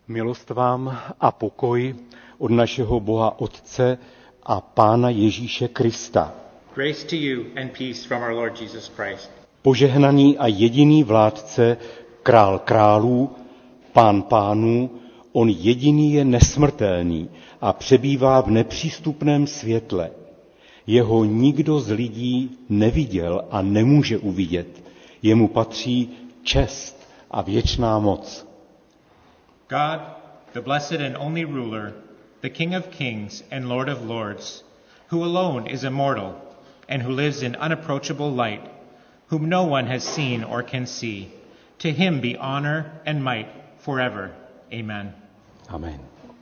Milost vám a pokoj od našeho Boha Otce a Pána Ježíše Krista. Grace to you and peace from our Lord Jesus Christ. Požehnaný a jediný vládce, král králů, pán pánů, on jediný je nesmrtelný a přebývá v nepřístupném světle. Jeho nikdo z lidí neviděl a nemůže uvidět. Jemu patří čest a věčná moc. God, the blessed and only ruler, the King of kings and Lord of lords, who alone is immortal and who lives in unapproachable light, whom no one has seen or can see, to him be honor and might forever. Amen. Amen.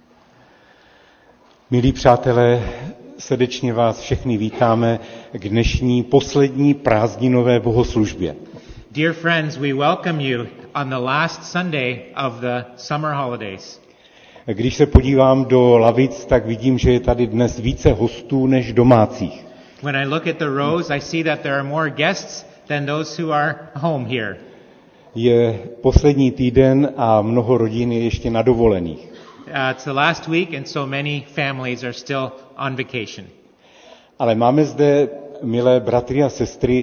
Milí přátelé, srdečně vás všechny vítáme k dnešní poslední prázdninové bohoslužbě. Dear friends, we welcome you on the last Sunday of the summer holidays. Když se podívám do lavic, tak vidím, že je tady dnes více hostů než domácích. When I look at the rows, I see that there are more guests than those who are home here. Je poslední týden a mnoho rodin je ještě na dovolených. It's the last week and so many families are still on vacation. Ale máme zde, milé bratry a sestry,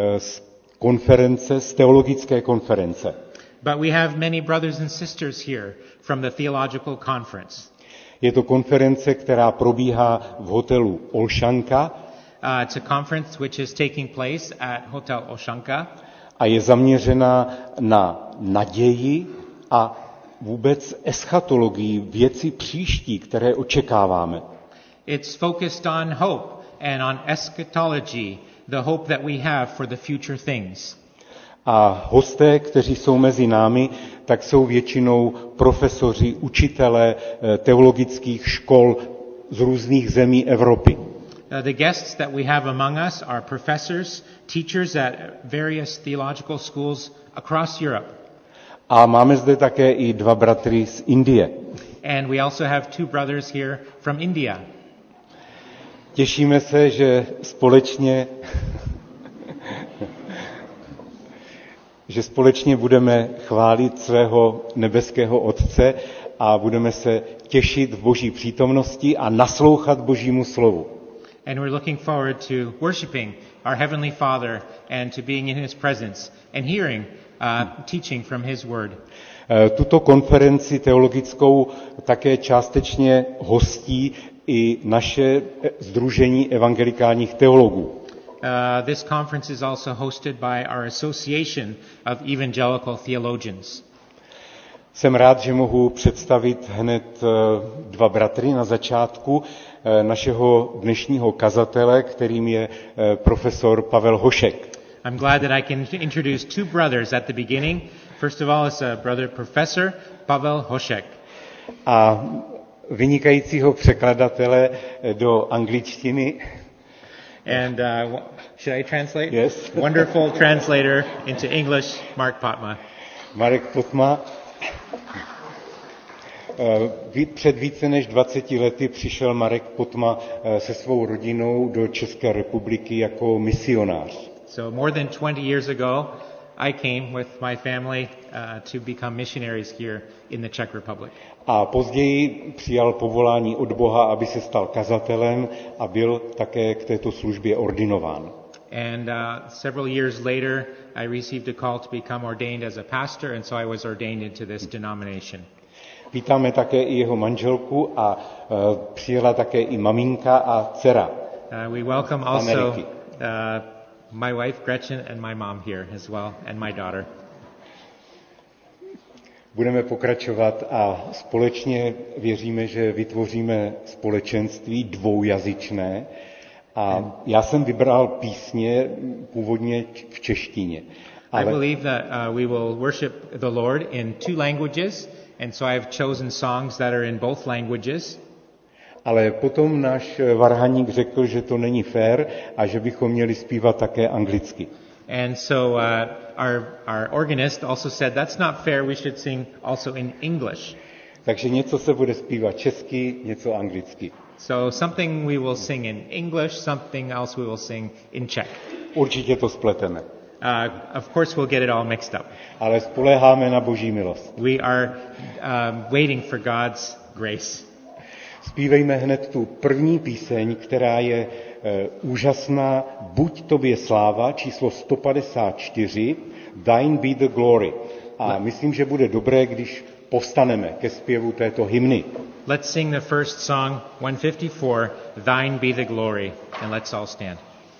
z teologické konference. But we have many brothers and sisters here from the theological conference. Je to konference, která probíhá v hotelu Olšanka. It's a conference which is taking place at Hotel Olšanka. A je zaměřena na naději a vůbec eschatologii, věci příští, které očekáváme. It's focused on hope and on eschatology, the hope that we have for the future things. A hosté, kteří jsou mezi námi, tak jsou většinou profesoři, učitelé teologických škol z různých zemí Evropy. The guests that we have among us are professors, teachers at various theological schools across Europe. A máme zde také i dva bratry z Indie. And we also have two brothers here from India. Těšíme se, že společně budeme chválit svého nebeského Otce a budeme se těšit v Boží přítomnosti a naslouchat Božímu slovu. And we're looking forward to worshiping our Heavenly Father and to being in His presence and hearing teaching from His Word. Tuto konferenci teologickou také částečně hostí i naše sdružení evangelikálních teologů. This conference is also hosted by our Association of Evangelical Theologians. Jsem rád, že mohu představit hned dva bratry na začátku našeho dnešního kazatele, kterým je profesor Pavel Hošek. I'm glad that I can introduce two brothers at the beginning. First of all is brother professor Pavel Hošek. A vynikajícího překladatele do angličtiny. And should I translate? Yes. Wonderful translator into English, Mark Potma. Marek Potma. Před více než 20 lety přišel Marek Potma se svou rodinou do České republiky jako misionář. So more than 20 years ago, I came with my family to become missionaries here in the Czech Republic. A později přijal povolání od Boha, aby se stal kazatelem a byl také k této službě ordinován. And several years later, I received a call to become ordained as a pastor, and so I was ordained into this denomination. Vítáme také i jeho manželku a přijela také i maminka a dcera. We welcome also my wife Gretchen and my mom here as well, and my daughter. Budeme pokračovat a společně věříme, že vytvoříme společenství dvoujazyčné. A já jsem vybral písně původně v češtině. I believe that we will worship the Lord in two languages, and so I have chosen songs that are in both languages. Ale potom náš varhaník řekl, že to není fér a že bychom měli zpívat také anglicky. And so our organist also said that's not fair, we should sing also in English. Takže něco se bude zpívat česky, něco anglicky. So something we will sing in English, something else we will sing in Czech. Určitě to spleteme. of course we'll get it all mixed up. Ale spoléháme na Boží milost. We are waiting for God's grace. Zpívejme hned tu první píseň, která je úžasná. Buď tobě sláva, číslo 154, Thine be the glory. A myslím, že bude dobré, když povstaneme ke zpěvu této hymny. Let's sing the first song, 154, Thine be the glory, and let's all stand.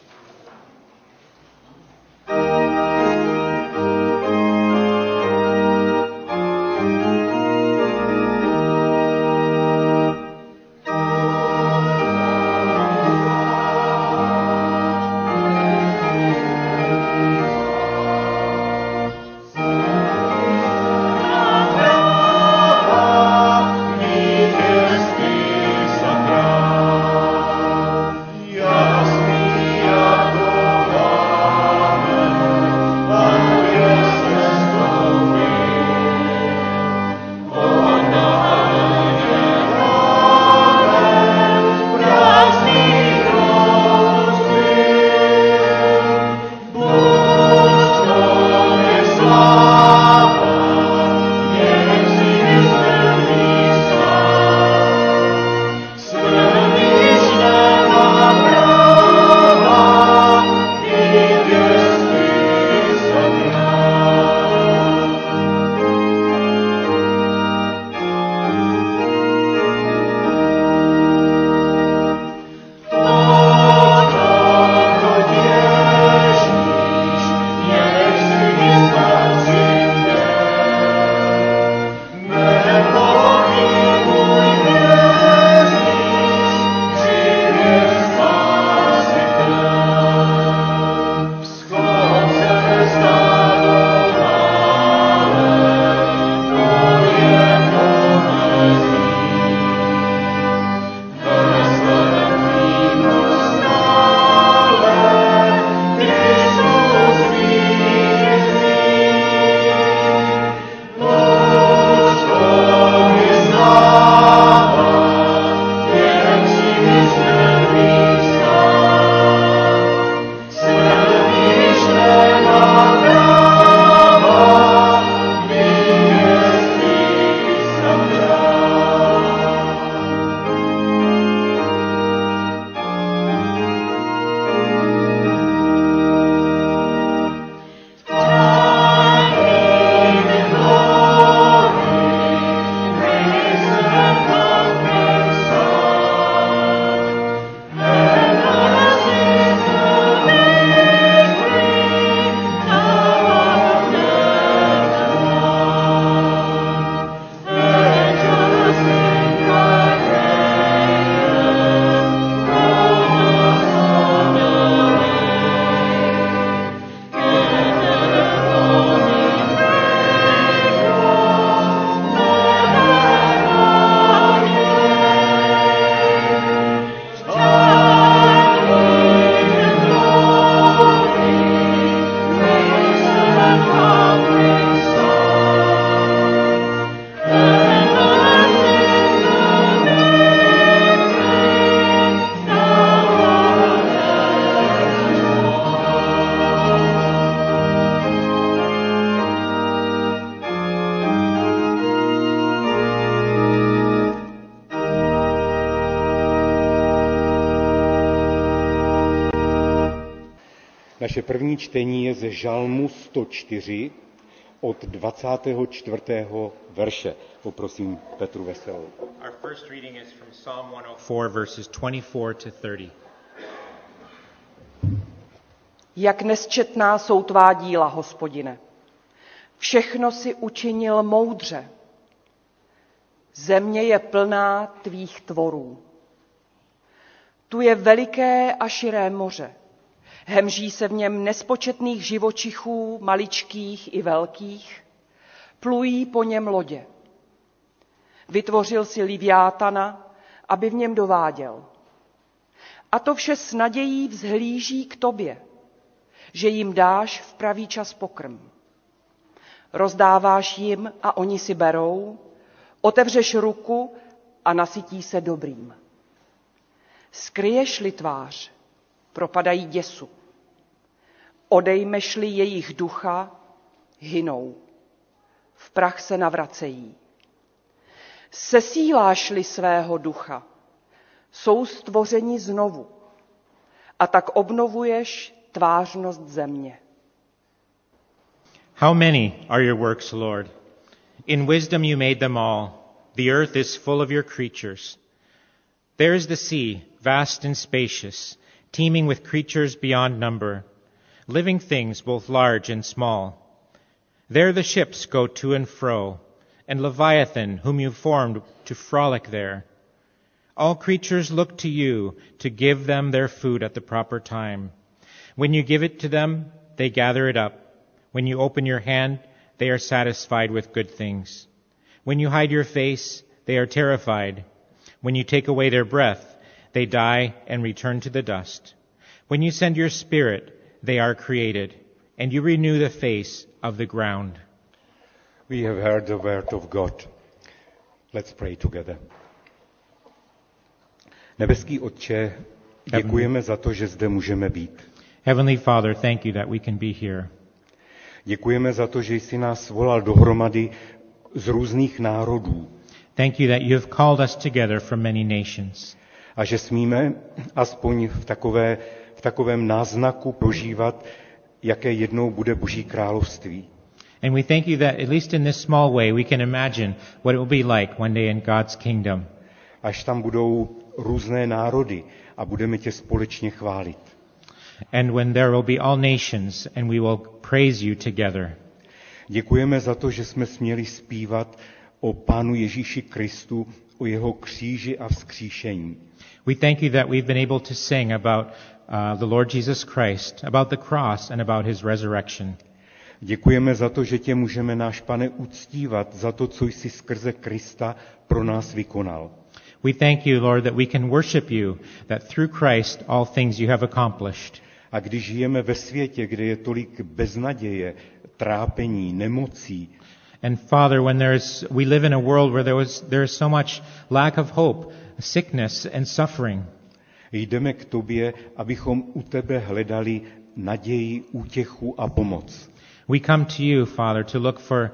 Naše první čtení je ze Žalmu 104 od 24. verše. Poprosím Petru Veselou. Our first reading is from Psalm 104, verses 24 to 30. Jak nesčetná jsou tvá díla, Hospodine. Všechno si učinil moudře. Země je plná tvých tvorů. Tu je veliké a širé moře. Hemží se v něm nespočetných živočichů, maličkých i velkých. Plují po něm lodě. Vytvořil si Liviátana, aby v něm dováděl. A to vše s nadějí vzhlíží k tobě, že jim dáš v pravý čas pokrm. Rozdáváš jim a oni si berou, otevřeš ruku a nasytí se dobrým. Skryješ-li tvář, propadají děsu. Odejmeš-li jejich ducha, hynou. V prach se navracejí. Sesíláš-li svého ducha, jsou stvořeni znovu a tak obnovuješ tvářnost země. How many are your works, Lord? In wisdom you made them all. The earth is full of your creatures. There is the sea, vast and spacious, teeming with creatures beyond number, living things both large and small. There the ships go to and fro, and Leviathan, whom you formed to frolic there. All creatures look to you to give them their food at the proper time. When you give it to them, they gather it up. When you open your hand, they are satisfied with good things. When you hide your face, they are terrified. When you take away their breath, they die and return to the dust. When you send your spirit, they are created, and you renew the face of the ground. We have heard the word of God. Let's pray together. Nebeský Otče, děkujeme za to, že zde můžeme být. Heavenly Father, thank you that we can be here. Děkujeme za to, že jsi nás svolal dohromady z různých národů. Thank you that you have called us together from many nations. A že smíme aspoň v takovém náznaku prožívat, jaké jednou bude Boží království. And we thank you that at least in this small way we can imagine what it will be like one day in God's kingdom. Až tam budou různé národy a budeme tě společně chválit. And when there will be all nations and we will praise you together. Děkujeme za to, že jsme směli zpívat o Pánu Ježíši Kristu, o jeho kříži a vzkříšení. We thank you that we've been able to sing about the Lord Jesus Christ, about the cross and about his resurrection. Děkujeme za to, že tě můžeme, náš Pane, uctívat za to, co jsi skrze Krista pro nás vykonal. We thank you, Lord, that we can worship you, that through Christ all things you have accomplished. A když žijeme ve světě, kde je tolik beznaděje, trápení, nemocí, and Father, when we live in a world where there is so much lack of hope, sickness and suffering, jdeme k tobě, abychom u tebe hledali naději, útěchu a pomoc. We come to you, Father, to look for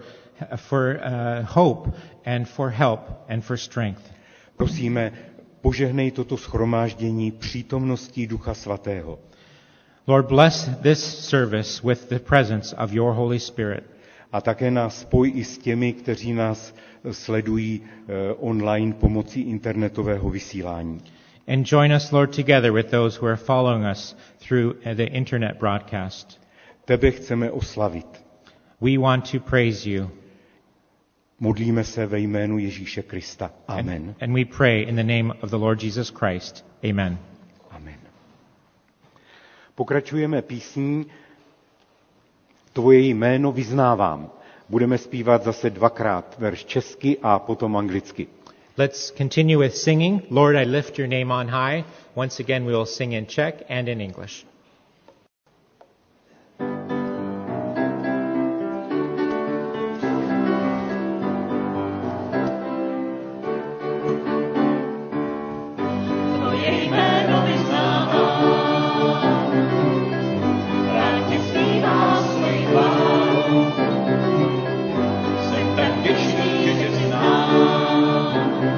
hope and for help and for strength. Prosíme, požehnej toto shromáždění přítomností Ducha Svatého. Lord, bless this service with the presence of your Holy Spirit. A také nás spoj i s těmi, kteří nás sledují online pomocí internetového vysílání. And join us, Lord, together with those who are following us through the internet broadcast. Tebe chceme oslavit. We want to praise you. Modlíme se ve jménu Ježíše Krista. Amen. And we pray in the name of the Lord Jesus Christ. Amen. Amen. Pokračujeme písní Tvoje jméno vyznávám. Budeme zpívat zase dvakrát verš česky a potom anglicky. Let's continue with singing. Lord, I lift your name on high. Once again, we will sing in Czech and in English.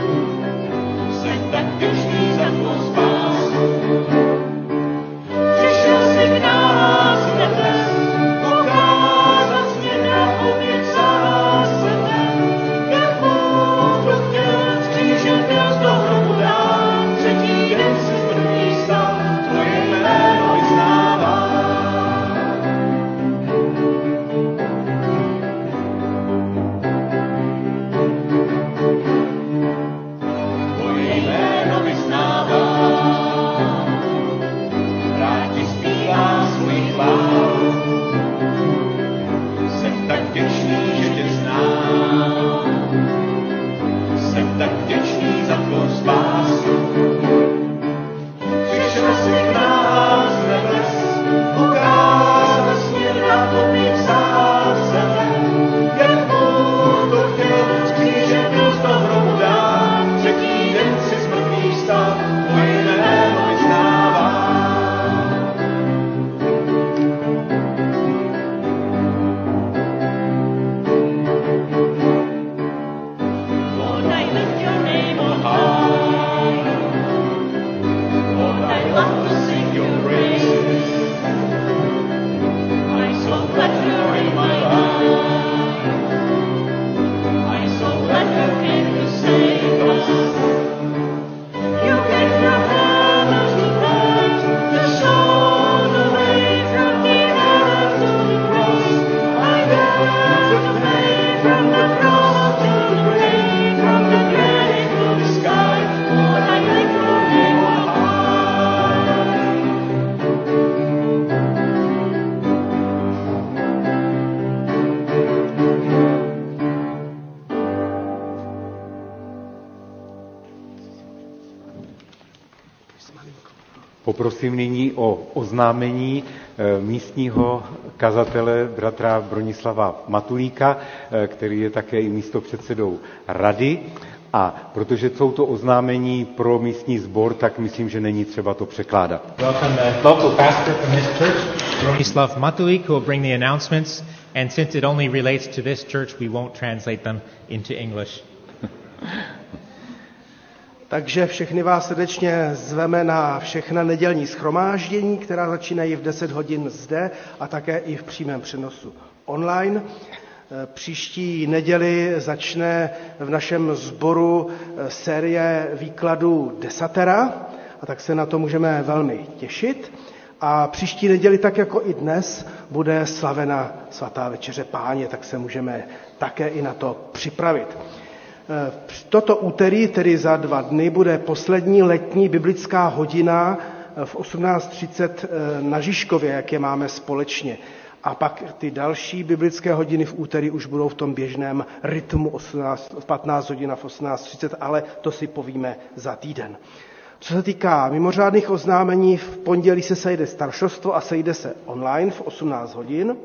Jsem Poprosím nyní o oznámení místního kazatele bratra Bronislava Matulíka, který je také i místopředsedou rady. A protože jsou to oznámení pro místní sbor, tak myslím, že není třeba to překládat. Welcome the local pastor from this church, Bronislav Matulik, who will bring the announcements. And since it only relates to this church, we won't translate them into English. Takže všechny vás srdečně zveme na všechna nedělní shromáždění, která začínají v 10 hodin zde a také i v přímém přenosu online. Příští neděli začne v našem sboru série výkladů Desatera, a tak se na to můžeme velmi těšit. A příští neděli, tak jako i dnes, bude slavena svatá večeře Páně, tak se můžeme také i na to připravit. Toto úterý, tedy za 2 dny, bude poslední letní biblická hodina v 18:30 na Žižkově, jak je máme společně. A pak ty další biblické hodiny v úterý už budou v tom běžném rytmu 15 hodin v 18:30, ale to si povíme za týden. Co se týká mimořádných oznámení, v pondělí se sejde staršostvo a sejde se online v 18 hodin.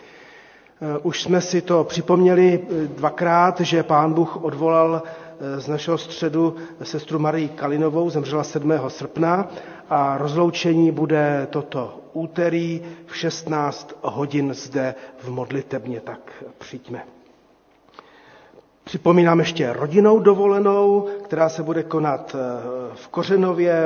Už jsme si to připomněli 2krát, že Pán Bůh odvolal z našeho středu sestru Marii Kalinovou, zemřela 7. srpna a rozloučení bude toto úterý v 16 hodin zde v modlitebně, tak přijďme. Připomínám ještě rodinnou dovolenou, která se bude konat v Kořenově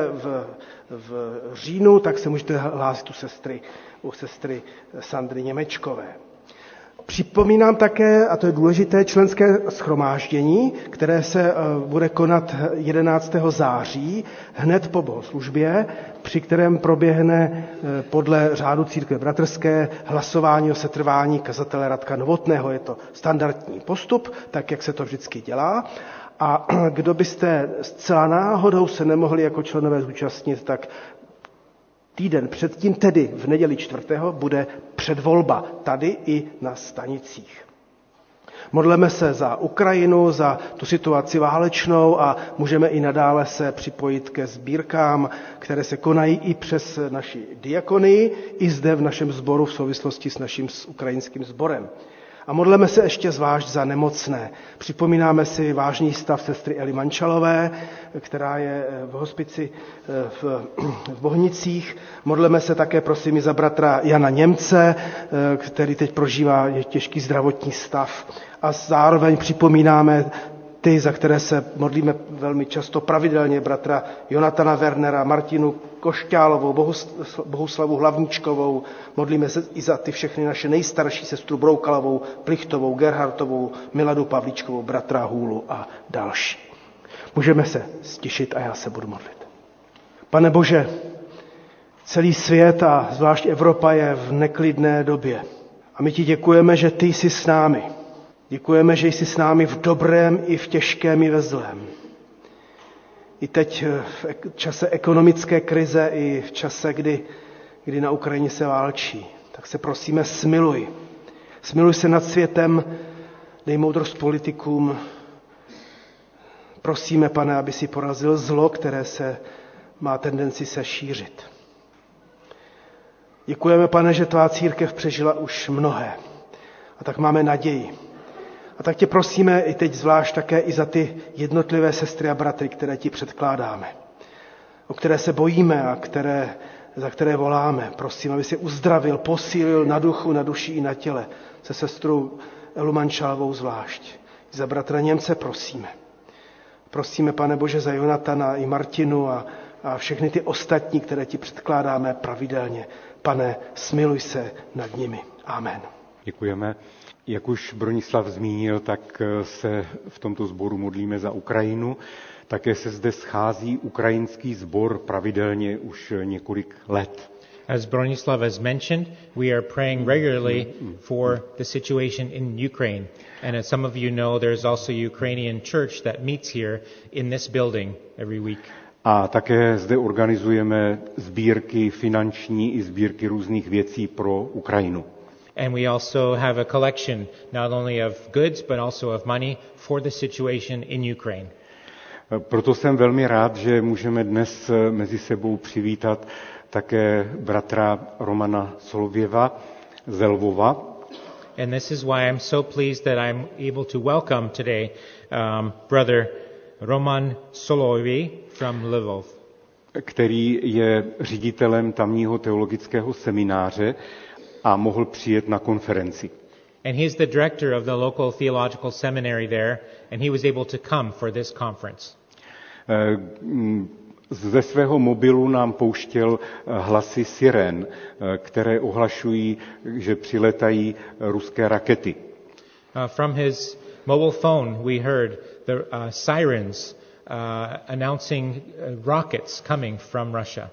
v říjnu, tak se můžete hlásit u sestry Sandry Němečkové. Připomínám také, a to je důležité, členské shromáždění, které se bude konat 11. září, hned po bohoslužbě, při kterém proběhne podle řádu církve bratrské hlasování o setrvání kazatele Radka Novotného. Je to standardní postup, tak jak se to vždycky dělá. A kdo byste zcela náhodou se nemohli jako členové zúčastnit, tak týden předtím, tedy v neděli 4. bude předvolba tady i na stanicích. Modleme se za Ukrajinu, za tu situaci válečnou a můžeme i nadále se připojit ke sbírkám, které se konají i přes naši diakonii, i zde v našem sboru v souvislosti s naším ukrajinským sborem. A modleme se ještě zvlášť za nemocné. Připomínáme si vážný stav sestry Eli Mančalové, která je v hospici v Bohnicích. Modleme se také, prosím, i za bratra Jana Němce, který teď prožívá těžký zdravotní stav. A zároveň připomínáme ty, za které se modlíme velmi často pravidelně, bratra Jonatana Wernera, Martinu Košťálovou, Bohuslavu Hlavničkovou. Modlíme se i za ty všechny naše nejstarší, sestru Broukalovou, Plichtovou, Gerhardtovou, Miladu Pavlíčkovou, bratra Hůlu a další. Můžeme se stišit a já se budu modlit. Pane Bože, celý svět a zvlášť Evropa je v neklidné době. A my ti děkujeme, že ty jsi s námi. Děkujeme, že jsi s námi v dobrém i v těžkém i ve zlém. I teď v čase ekonomické krize i v čase, kdy na Ukrajině se válčí. Tak se prosíme, smiluj. Smiluj se nad světem, dej moudrost politikům. Prosíme, Pane, aby si porazil zlo, které se má tendenci se šířit. Děkujeme, Pane, že tvá církev přežila už mnohé. A tak máme naději. A tak tě prosíme i teď zvlášť také i za ty jednotlivé sestry a bratry, které ti předkládáme, o které se bojíme a za které voláme. Prosím, aby si uzdravil, posílil na duchu, na duši i na těle. Se sestrou Elu Mančalovou zvlášť. I za bratra Němce prosíme. Prosíme, Pane Bože, za Jonatana i Martinu a všechny ty ostatní, které ti předkládáme pravidelně. Pane, smiluj se nad nimi. Amen. Děkujeme. Jak už Bronislav zmínil, tak se v tomto sboru modlíme za Ukrajinu. Také se zde schází ukrajinský sbor pravidelně už několik let. As Bronislav has mentioned, we are praying regularly for the situation in Ukraine. And as some of you know, there's also a Ukrainian church that meets here in this building every week. A také zde organizujeme sbírky finanční i sbírky různých věcí pro Ukrajinu. And we also have a collection not only of goods but also of money for the situation in Ukraine. Proto jsem velmi rád, že můžeme dnes mezi sebou přivítat také bratra Romana Solověva z Lvova. And this is why I'm so pleased that I'm able to welcome today brother Roman Solovey from Lvov, který je ředitelem tamního teologického semináře a mohl přijet na konferenci. And he's the director of the local theological seminary there, and he was able to come for this conference. Ze svého mobilu nám pouštěl hlasy sirén, které ohlašují, že přiletají ruské rakety. From his mobile phone we heard the sirens announcing rockets coming from Russia.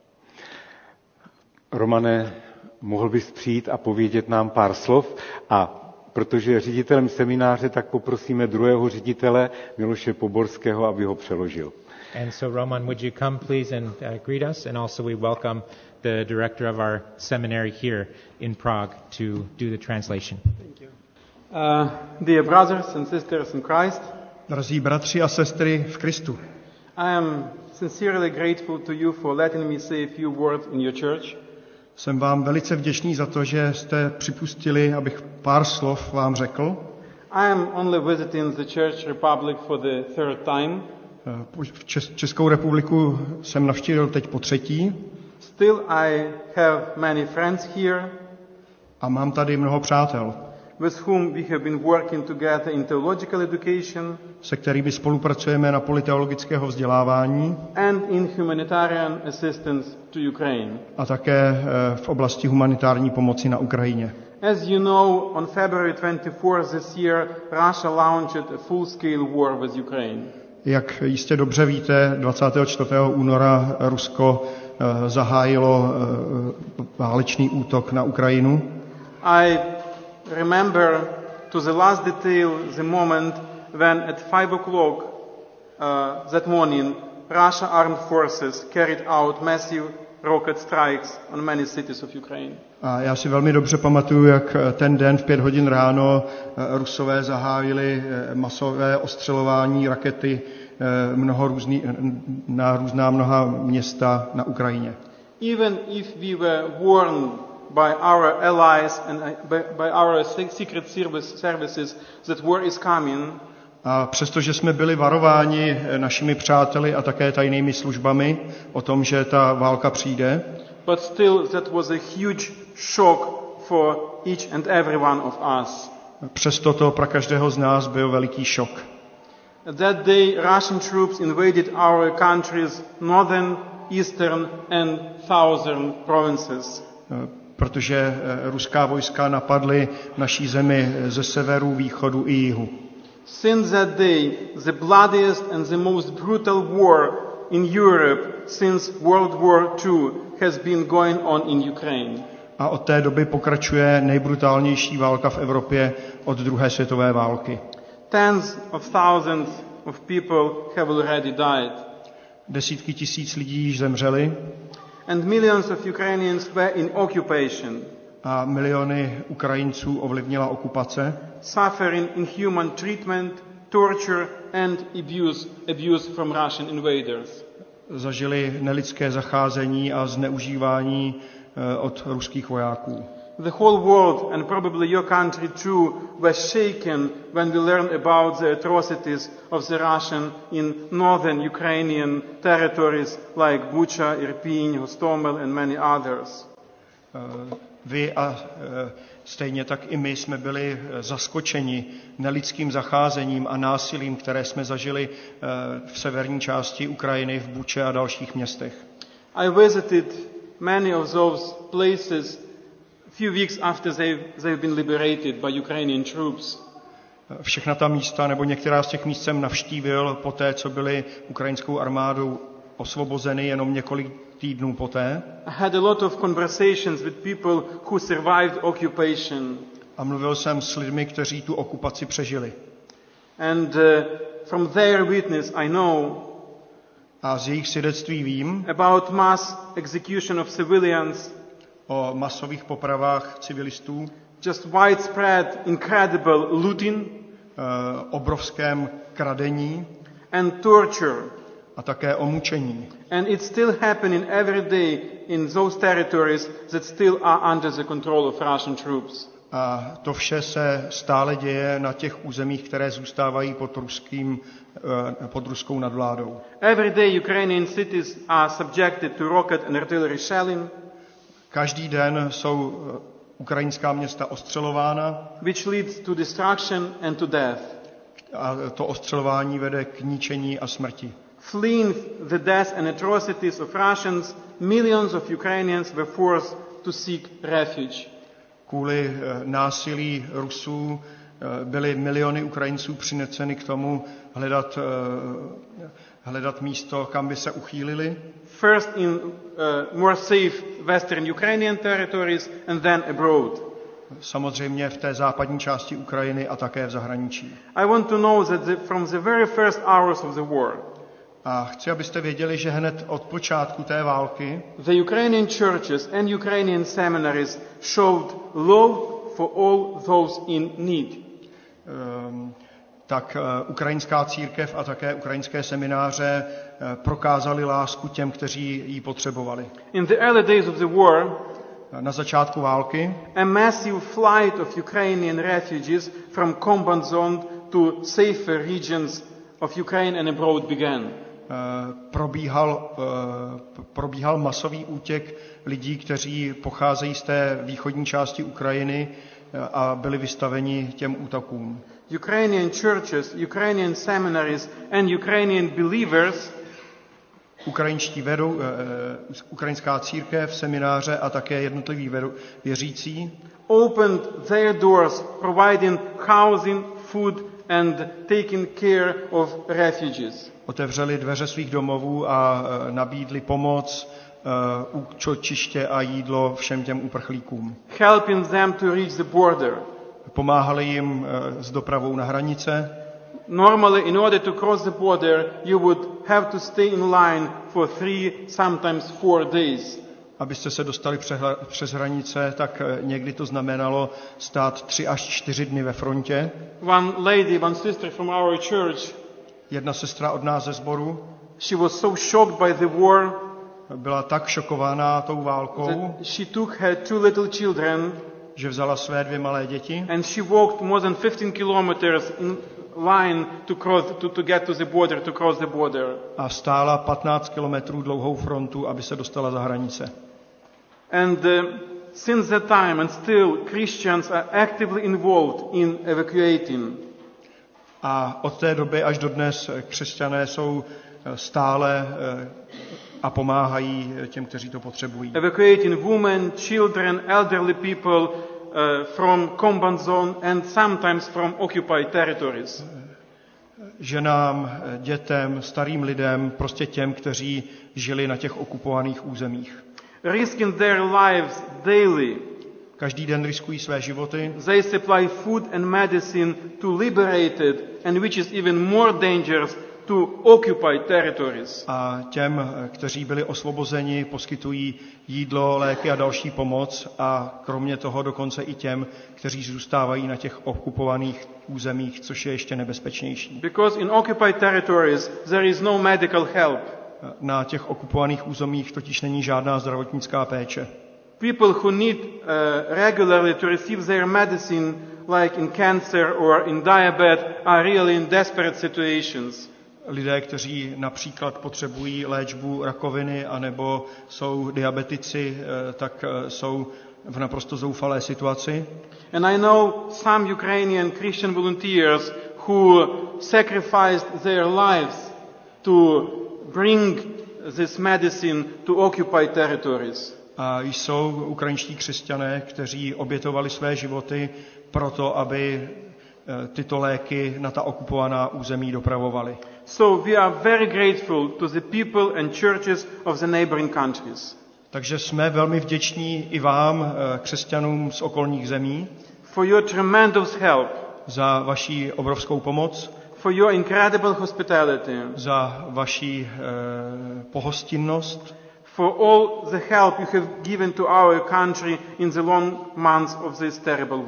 Romane, mohl bys přijít a povědět nám pár slov? A protože je ředitelem semináře, tak poprosíme druhého ředitele, Miloše Poborského, aby ho přeložil. And so Roman, would you come please and greet us? And also we welcome the director of our seminary here in Prague to do the translation. Thank you. Dear brothers and sisters in Christ, Drazí bratři a sestry v Kristu, I am sincerely grateful to you for letting me say a few words in your church. jsem vám velice vděčný za to, že jste připustili, abych pár slov vám řekl. I am only visiting the Czech Republic for the third time. Českou republiku jsem navštívil teď po třetí. Still I have many friends here, A mám tady mnoho přátel, with whom we have been working together in theological education se kterými spolupracujeme na poli teologického vzdělávání and in humanitarian assistance to Ukraine. a také v oblasti humanitární pomoci na Ukrajině. As you know, on February 24th this year, Russia launched a full-scale war with Ukraine. Jak jistě dobře víte, 24. února Rusko zahájilo válečný útok na Ukrajinu. I remember to the last detail the moment when at 5 o'clock that morning Russia armed forces carried out massive rocket strikes on many cities of Ukraine. A já si velmi dobře pamatuju, jak ten den v 5 hodin ráno Rusové zahájili masové ostřelování rakety na mnoha města na Ukrajině. Even if we were warned by our allies and by our secret services that war is coming, A přestože jsme byli varováni našimi přáteli a také tajnými službami o tom, že ta válka přijde, but still that was a huge shock for each and every one of us. přesto to pro každého z nás byl veliký šok. That day Russian troops invaded our country's northern, eastern and southern provinces. Protože ruská vojska napadly naší zemi ze severu, východu i jihu. Since that day, the bloodiest and the most brutal war in Europe since World War II has been going on in Ukraine. A od té doby pokračuje nejbrutálnější válka v Evropě od druhé světové války. Tens of thousands of people have already died. Desítky tisíc lidí již zemřeli And millions of Ukrainians were in occupation, a miliony Ukrajinců ovlivnila okupace, suffering inhuman treatment, torture and abuse from Russian invaders. zažili nelidské zacházení a zneužívání od ruských vojáků. The whole world, and probably your country too, was shaken when we learned about the atrocities of the Russian in northern Ukrainian territories like Bucha, Irpin, Hostomel and many others. Vy a stejně tak i my jsme byli zaskočeni nelidským zacházením a násilím, které jsme zažili v severní části Ukrajiny, v Buče a dalších městech. I visited many of those places few weeks after they've been liberated by Ukrainian troops. Všechna ta místa, nebo některá z těch míst jsem navštívil po té, co byly ukrajinskou armádou osvobozeny jenom několik týdnů poté. I had a lot of conversations with people who survived occupation. A mluvil jsem s lidmi, kteří tu okupaci přežili. And from their witness I know A z jejich svědectví vím about mass execution of civilians, o masových popravách civilistů, just widespread, incredible looting, obrovském kradení and torture. a také o mučení. And it's still happening every day in those territories that still are under the control of Russian troops. A to vše se stále děje na těch územích, které zůstávají pod ruskou nadvládou. Every day Ukrainian cities are subjected to rocket and artillery shelling, Každý den jsou ukrajinská města ostřelována which leads to destruction and to death. a to ostřelování vede k ničení a smrti. Fleeing the death and atrocities of Russians, millions of Ukrainians were forced to seek refuge. Kvůli násilí Rusů byly miliony Ukrajinců přinuceny k tomu hledat místo, kam by se uchýlili. First in more safe western Ukrainian territories and then abroad. Samozřejmě v té západní části Ukrajiny a také v zahraničí. I want to know that from the very first hours of the war, A chci, abyste věděli, že hned od počátku té války the Ukrainian churches and Ukrainian seminaries showed love for all those in need. tak ukrajinská církev a také ukrajinské semináře prokázali lásku těm, kteří ji potřebovali. In the early days of the war, Na začátku války a massive flight of Ukrainian refugees from combat zone to safer regions of Ukraine and abroad began. probíhal masový útěk lidí, kteří pocházejí z té východní části Ukrajiny a byli vystaveni těm útokům. Ukrainian churches, Ukrainian seminaries and Ukrainian believers ukrajinská církev, semináře a také jednotliví věřící opened their doors, providing housing, food and taking care of refugees. otevřeli dveře svých domovů a nabídli pomoc, útočiště a jídlo všem těm uprchlíkům. Helping them to reach the border. Pomáhali jim s dopravou na hranice. Normally, in order to cross the border, you would have to stay in line for 3, sometimes 4 days. Abyste se dostali přes hranice, tak někdy to znamenalo stát 3 až 4 dny ve frontě. One sister from our church, Jedna sestra od nás ze sboru she was so shocked by the war byla tak šokovaná tou válkou, that she took her 2 little children že vzala své 2 malé děti and she walked more than 15 kilometers in line to get to the border, to cross the border. a stála 15 kilometrů dlouhou frontu, aby se dostala za hranice. And since that time and still Christians are actively involved in evacuating. A od té doby až do dnes křesťané jsou stále a pomáhají těm, kteří to potřebují. Evacuating women, children, elderly people from combat zone and sometimes from occupied territories. Ženám, dětem, starým lidem, prostě těm, kteří žili na těch okupovaných územích. Risking their lives daily. Každý den riskují své životy. They supply food and medicine to liberated and which is even more dangerous to occupied territories. A těm, kteří byli osvobozeni, poskytují jídlo, léky a další pomoc a kromě toho dokonce i těm, kteří zůstávají na těch okupovaných územích, což je ještě nebezpečnější. Because in occupied territories there is no medical help. Na těch okupovaných územích totiž není žádná zdravotnická péče. People who need regularly to receive their medicine, like in cancer or in diabetes, are really in desperate situations. Lidé, kteří například potřebují léčbu rakoviny anebo jsou diabetici, tak jsou v naprosto zoufalé situaci. And I know some Ukrainian Christian volunteers who sacrificed their lives to bring this medicine to occupied territories. A jsou ukrajinští křesťané, kteří obětovali své životy proto, aby tyto léky na ta okupovaná území dopravovali. So we are very grateful to the people and churches of the neighboring countries. Takže jsme velmi vděční i vám, křesťanům z okolních zemí, for your tremendous help, za vaši obrovskou pomoc, for your incredible hospitality, za vaši pohostinnost, for all the help you have given to our country in the long months of this terrible war.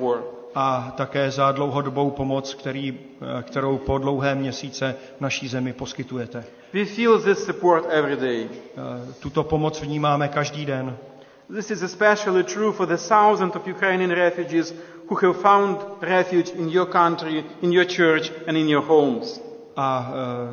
a také za dlouhodobou pomoc, kterou po dlouhé měsíce naší zemi poskytujete. We feel this support every day. Tuto pomoc vnímáme každý den. This is especially true for the thousands of Ukrainian refugees who have found refuge in your country, in your church and in your homes. A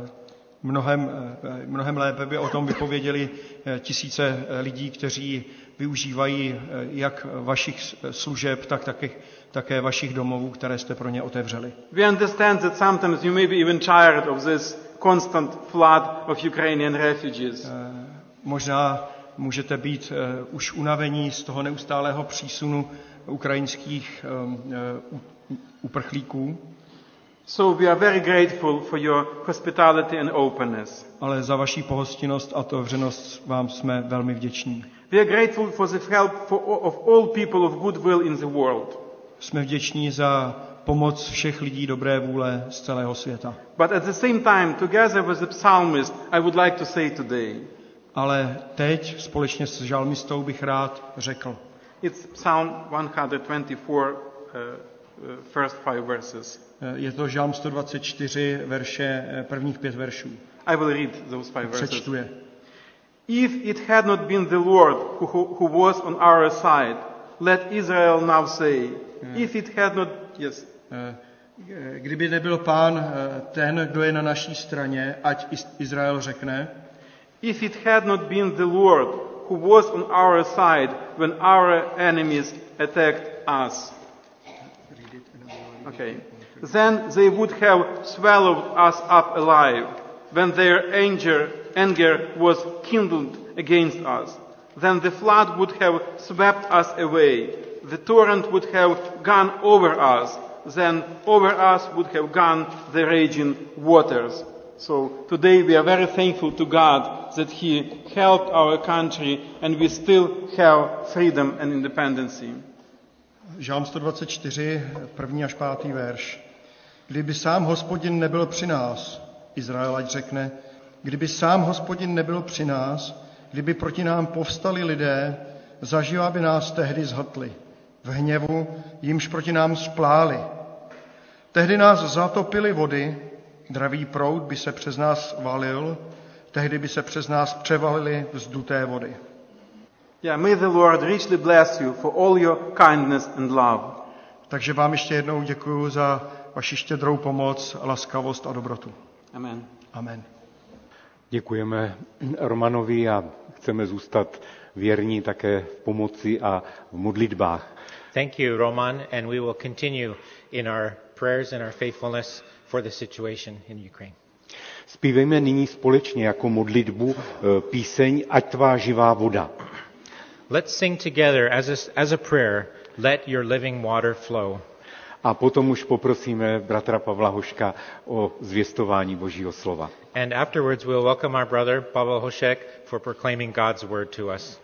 mnohem lépe by o tom vypověděli tisíce lidí, kteří využívají jak vašich služeb, tak také vašich domovů, které jste pro ně otevřeli. We understand that sometimes you may be even tired of this constant flood of Ukrainian refugees. Možná můžete být už unavení z toho neustálého přísunu ukrajinských uprchlíků. So we are very grateful for your hospitality and openness. Ale za vaši pohostinnost a otevřenost vám jsme velmi vděční. We are grateful for the help of all people of goodwill in the world. Jsme vděční za pomoc všech lidí dobré vůle z celého světa. But at the same time, together with the psalmist, I would like to say today. Ale teď společně s žalmistou bych rád řekl. It's Psalm 124, first 5 verses. Je to Žalm 124, prvních 5 veršů. I will read those 5 verses. Přečtu je. If it had not been the Lord who was on our side, let Israel now say. If it had not, yes. Kdyby nebyl Pán ten, kdo je na naší straně, ať Izrael řekne. If it had not been the Lord who was on our side when our enemies attacked us. Okay. Then they would have swallowed us up alive when their anger was kindled against us. Then the flood would have swept us away. The torrent would have gone over us. Then over us would have gone the raging waters. So today we are very thankful to God that He helped our country and we still have freedom and independency. Žalm 124, 1. až 5. verš. Kdyby sám Hospodin nebyl při nás, Izrael ať řekne, kdyby sám Hospodin nebyl při nás, kdyby proti nám povstali lidé, zaživa by nás tehdy zhltli. V hněvu jimž proti nám spláli. Tehdy nás zatopily vody, dravý proud by se přes nás valil, tehdy by se přes nás převalily vzduté vody. Yeah, may the Lord richly bless you for all your kindness and love. Takže vám ještě jednou děkuji za vaši štědrou pomoc, laskavost a dobrotu. Amen. Amen. Děkujeme Romanovi a chceme zůstat věrní také v pomoci a v modlitbách. Thank you, Roman, and we will continue in our prayers and our faithfulness for the situation in Ukraine. Zpívejme nyní společně jako modlitbu píseň Ať tvá živá voda. Let's sing together as a prayer, let your living water flow. A potom už poprosíme bratra Pavla Hoška o zvěstování Božího slova. And afterwards we'll welcome our brother Pavel Hošek for proclaiming God's word to us.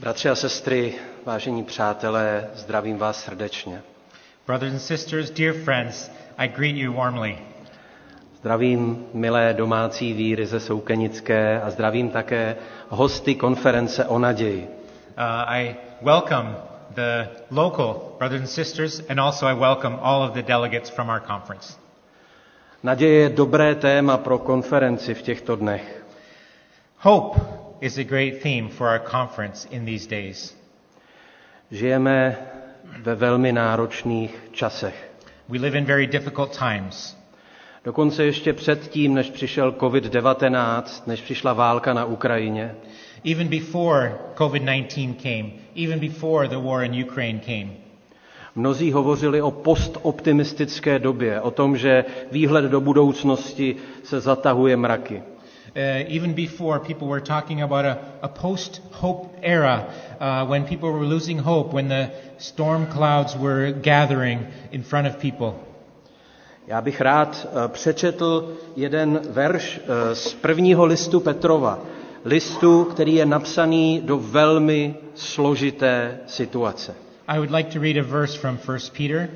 Bratři a sestry, vážení přátelé, zdravím vás srdečně. Brothers and sisters, dear friends, I greet you warmly. Zdravím milé domácí víry ze Soukenické a zdravím také hosty konference o naději. I welcome the local brothers and sisters, and also I welcome all of the delegates from our conference. Naděje je dobré téma pro konferenci v těchto dnech. Hope is a great theme for our conference in these days. Žijeme ve velmi náročných časech. We live in very difficult times. Dokonce ještě předtím, než přišel COVID-19, než přišla válka na Ukrajině, Even before COVID-19 came, even before the war in Ukraine came, mnozí hovořili o postoptimistické době, o tom, že výhled do budoucnosti se zatahuje mraky. Even before, people were talking about a post-hope era, when people were losing hope, when the storm clouds were gathering in front of people. Já bych rád přečetl jeden verš z prvního listu Petrova, listu, který je napsaný do velmi složité situace. I would like to read a verse from 1 Peter,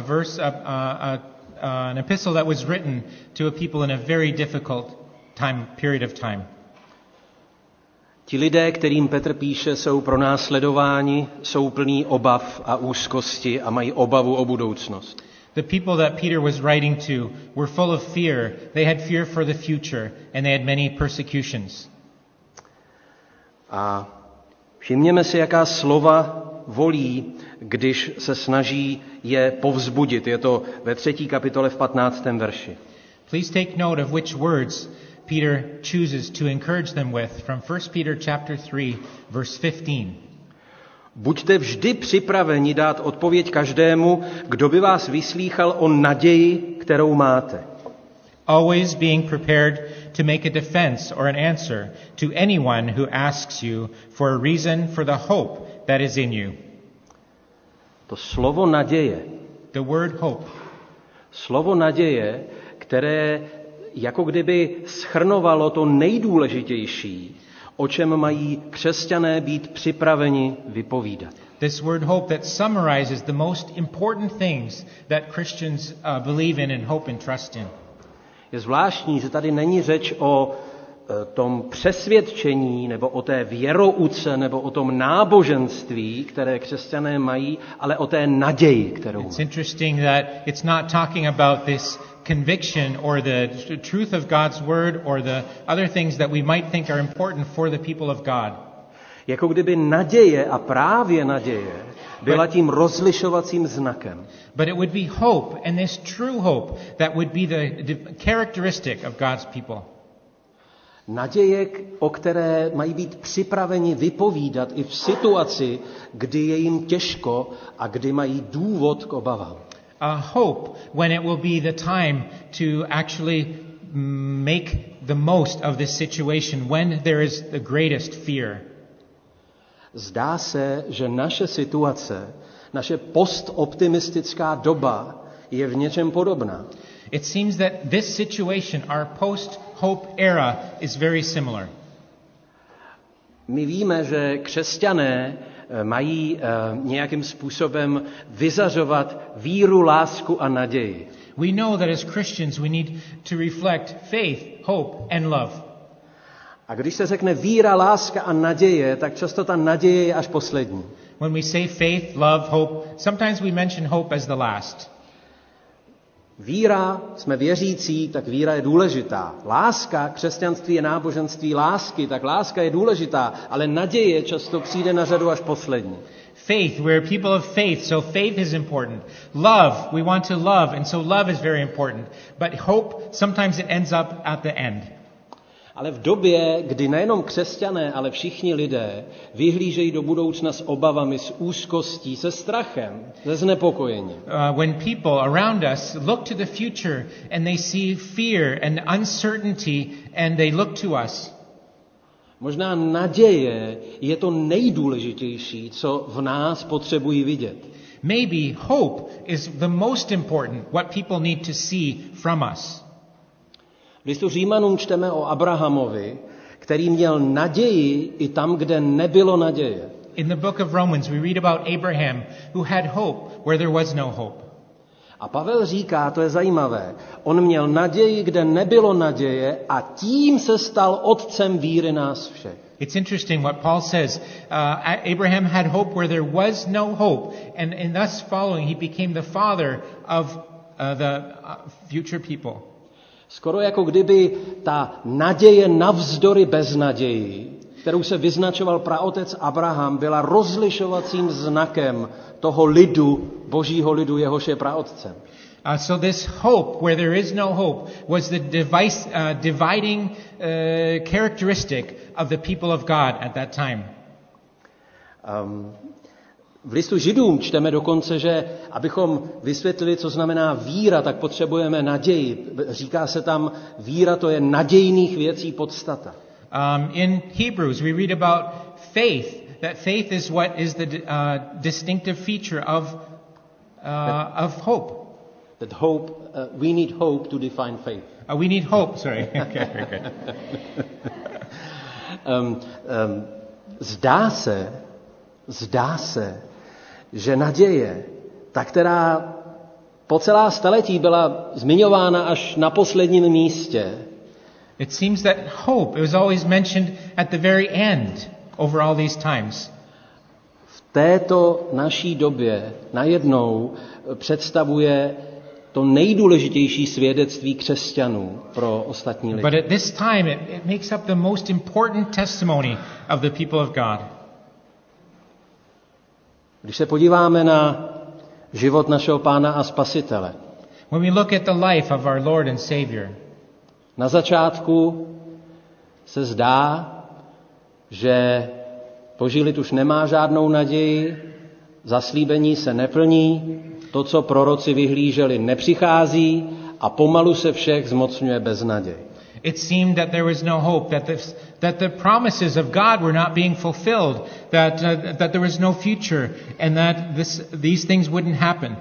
an epistle that was written to a people in a very difficult period of time. Ti lidé, kterým Petr píše, jsou pronásledováni, jsou plní obav a úzkosti a mají obavu o budoucnost. The people that Peter was writing to were full of fear. They had fear for the future, and they had many persecutions. A všimněme si, jaká slova volí, když se snaží je povzbudit. Je to ve 3. kapitole v 15. verši. Please take note of which words Peter chooses to encourage them with from 1 Peter chapter 3, verse 15. Buďte vždy připraveni dát odpověď každému, kdo by vás vyslýchal o naději, kterou máte. Always being prepared to make a defense or an answer to anyone who asks you for a reason for the hope that is in you. To slovo naděje, The word hope, slovo naděje, které jako kdyby shrnovalo to nejdůležitější, o čem mají křesťané být připraveni vypovídat. this word hope that summarizes the most important things that Christians believe in and hope and trust in. Je zvláštní, že tady není řeč o tom přesvědčení nebo o té věrouce nebo o tom náboženství, které křesťané mají, ale o té naději, kterou It's mají. interesting that it's not talking about this conviction or the truth of God's word or the other things that we might think are important for the people of God. Jako kdyby naděje a právě naděje byla tím rozlišovacím znakem. But it would be hope, and this true hope, that would be the characteristic of God's people. Naděje, o které mají být připraveni vypovídat i v situaci, kdy je jim těžko a kdy mají důvod k obavám. A hope when it will be the time to actually make the most of this situation, when there is the greatest fear. Zdá se, že naše situace, naše postoptimistická doba je v něčem podobná. It seems that this situation, our post-hope era, is very similar. My víme, že křesťané mají nějakým způsobem vyzařovat víru, lásku a naději. We know that as Christians we need to reflect faith, hope, and love. A když se řekne víra, láska a naděje, tak často ta naděje je až poslední. When we say faith, love, hope, sometimes we mention hope as the last. Víra, jsme věřící, tak víra je důležitá. Láska, křesťanství je náboženství lásky, tak láska je důležitá, ale naděje často přijde na řadu až poslední. Faith, we're people of faith, so faith is important. Love, we want to love, and so love is very important. But hope, sometimes it ends up at the end. Ale v době, kdy nejenom křesťané, ale všichni lidé vyhlížejí do budoucna s obavami, s úzkostí, se strachem, se znepokojením. When people around us look to the future and they see fear and uncertainty and they look to us. Možná naděje je to nejdůležitější, co v nás potřebují vidět. Maybe hope is the most important, what people need to see from us. V listu Římanům čteme o Abrahamovi, který měl naději i tam, kde nebylo naděje. In the book of Romans, we read about Abraham, who had hope where there was no hope. A Pavel říká, to je zajímavé, on měl naději, kde nebylo naděje a tím se stal otcem víry nás všech. It's interesting what Paul says. Abraham had hope where there was no hope, and in thus following, he became the father of the future people. Skoro jako kdyby ta naděje navzdory beznaději, kterou se vyznačoval praotec Abraham, byla rozlišovacím znakem toho lidu, božího lidu, jehož je praotcem. So this hope, where there is no hope, was the dividing characteristic of the people of God at that time. V listu Židům čteme dokonce, že abychom vysvětlili, co znamená víra, tak potřebujeme naději. Říká se tam, víra to je nadějných věcí podstata. In Hebrews, we read about faith. That faith is what is the distinctive feature of hope. That hope, we need hope to define faith. We need hope. Sorry. Okay, very good. Zdá se, že naděje, ta, která po celá staletí byla zmiňována až na posledním místě. It seems that hope was always mentioned at the very end over all these times. V této naší době najednou představuje to nejdůležitější svědectví křesťanů pro ostatní lidi. But at this time it makes up the most important testimony of the people of God. Když se podíváme na život našeho Pána a Spasitele. When we look at the life of our Lord and Savior. Na začátku se zdá, že Boží lid už nemá žádnou naději, zaslíbení se neplní, to, co proroci vyhlíželi, nepřichází a pomalu se všech zmocňuje beznaděj. It seemed that there was no hope, that the promises of God were not being fulfilled, that there was no future, and that these things wouldn't happen.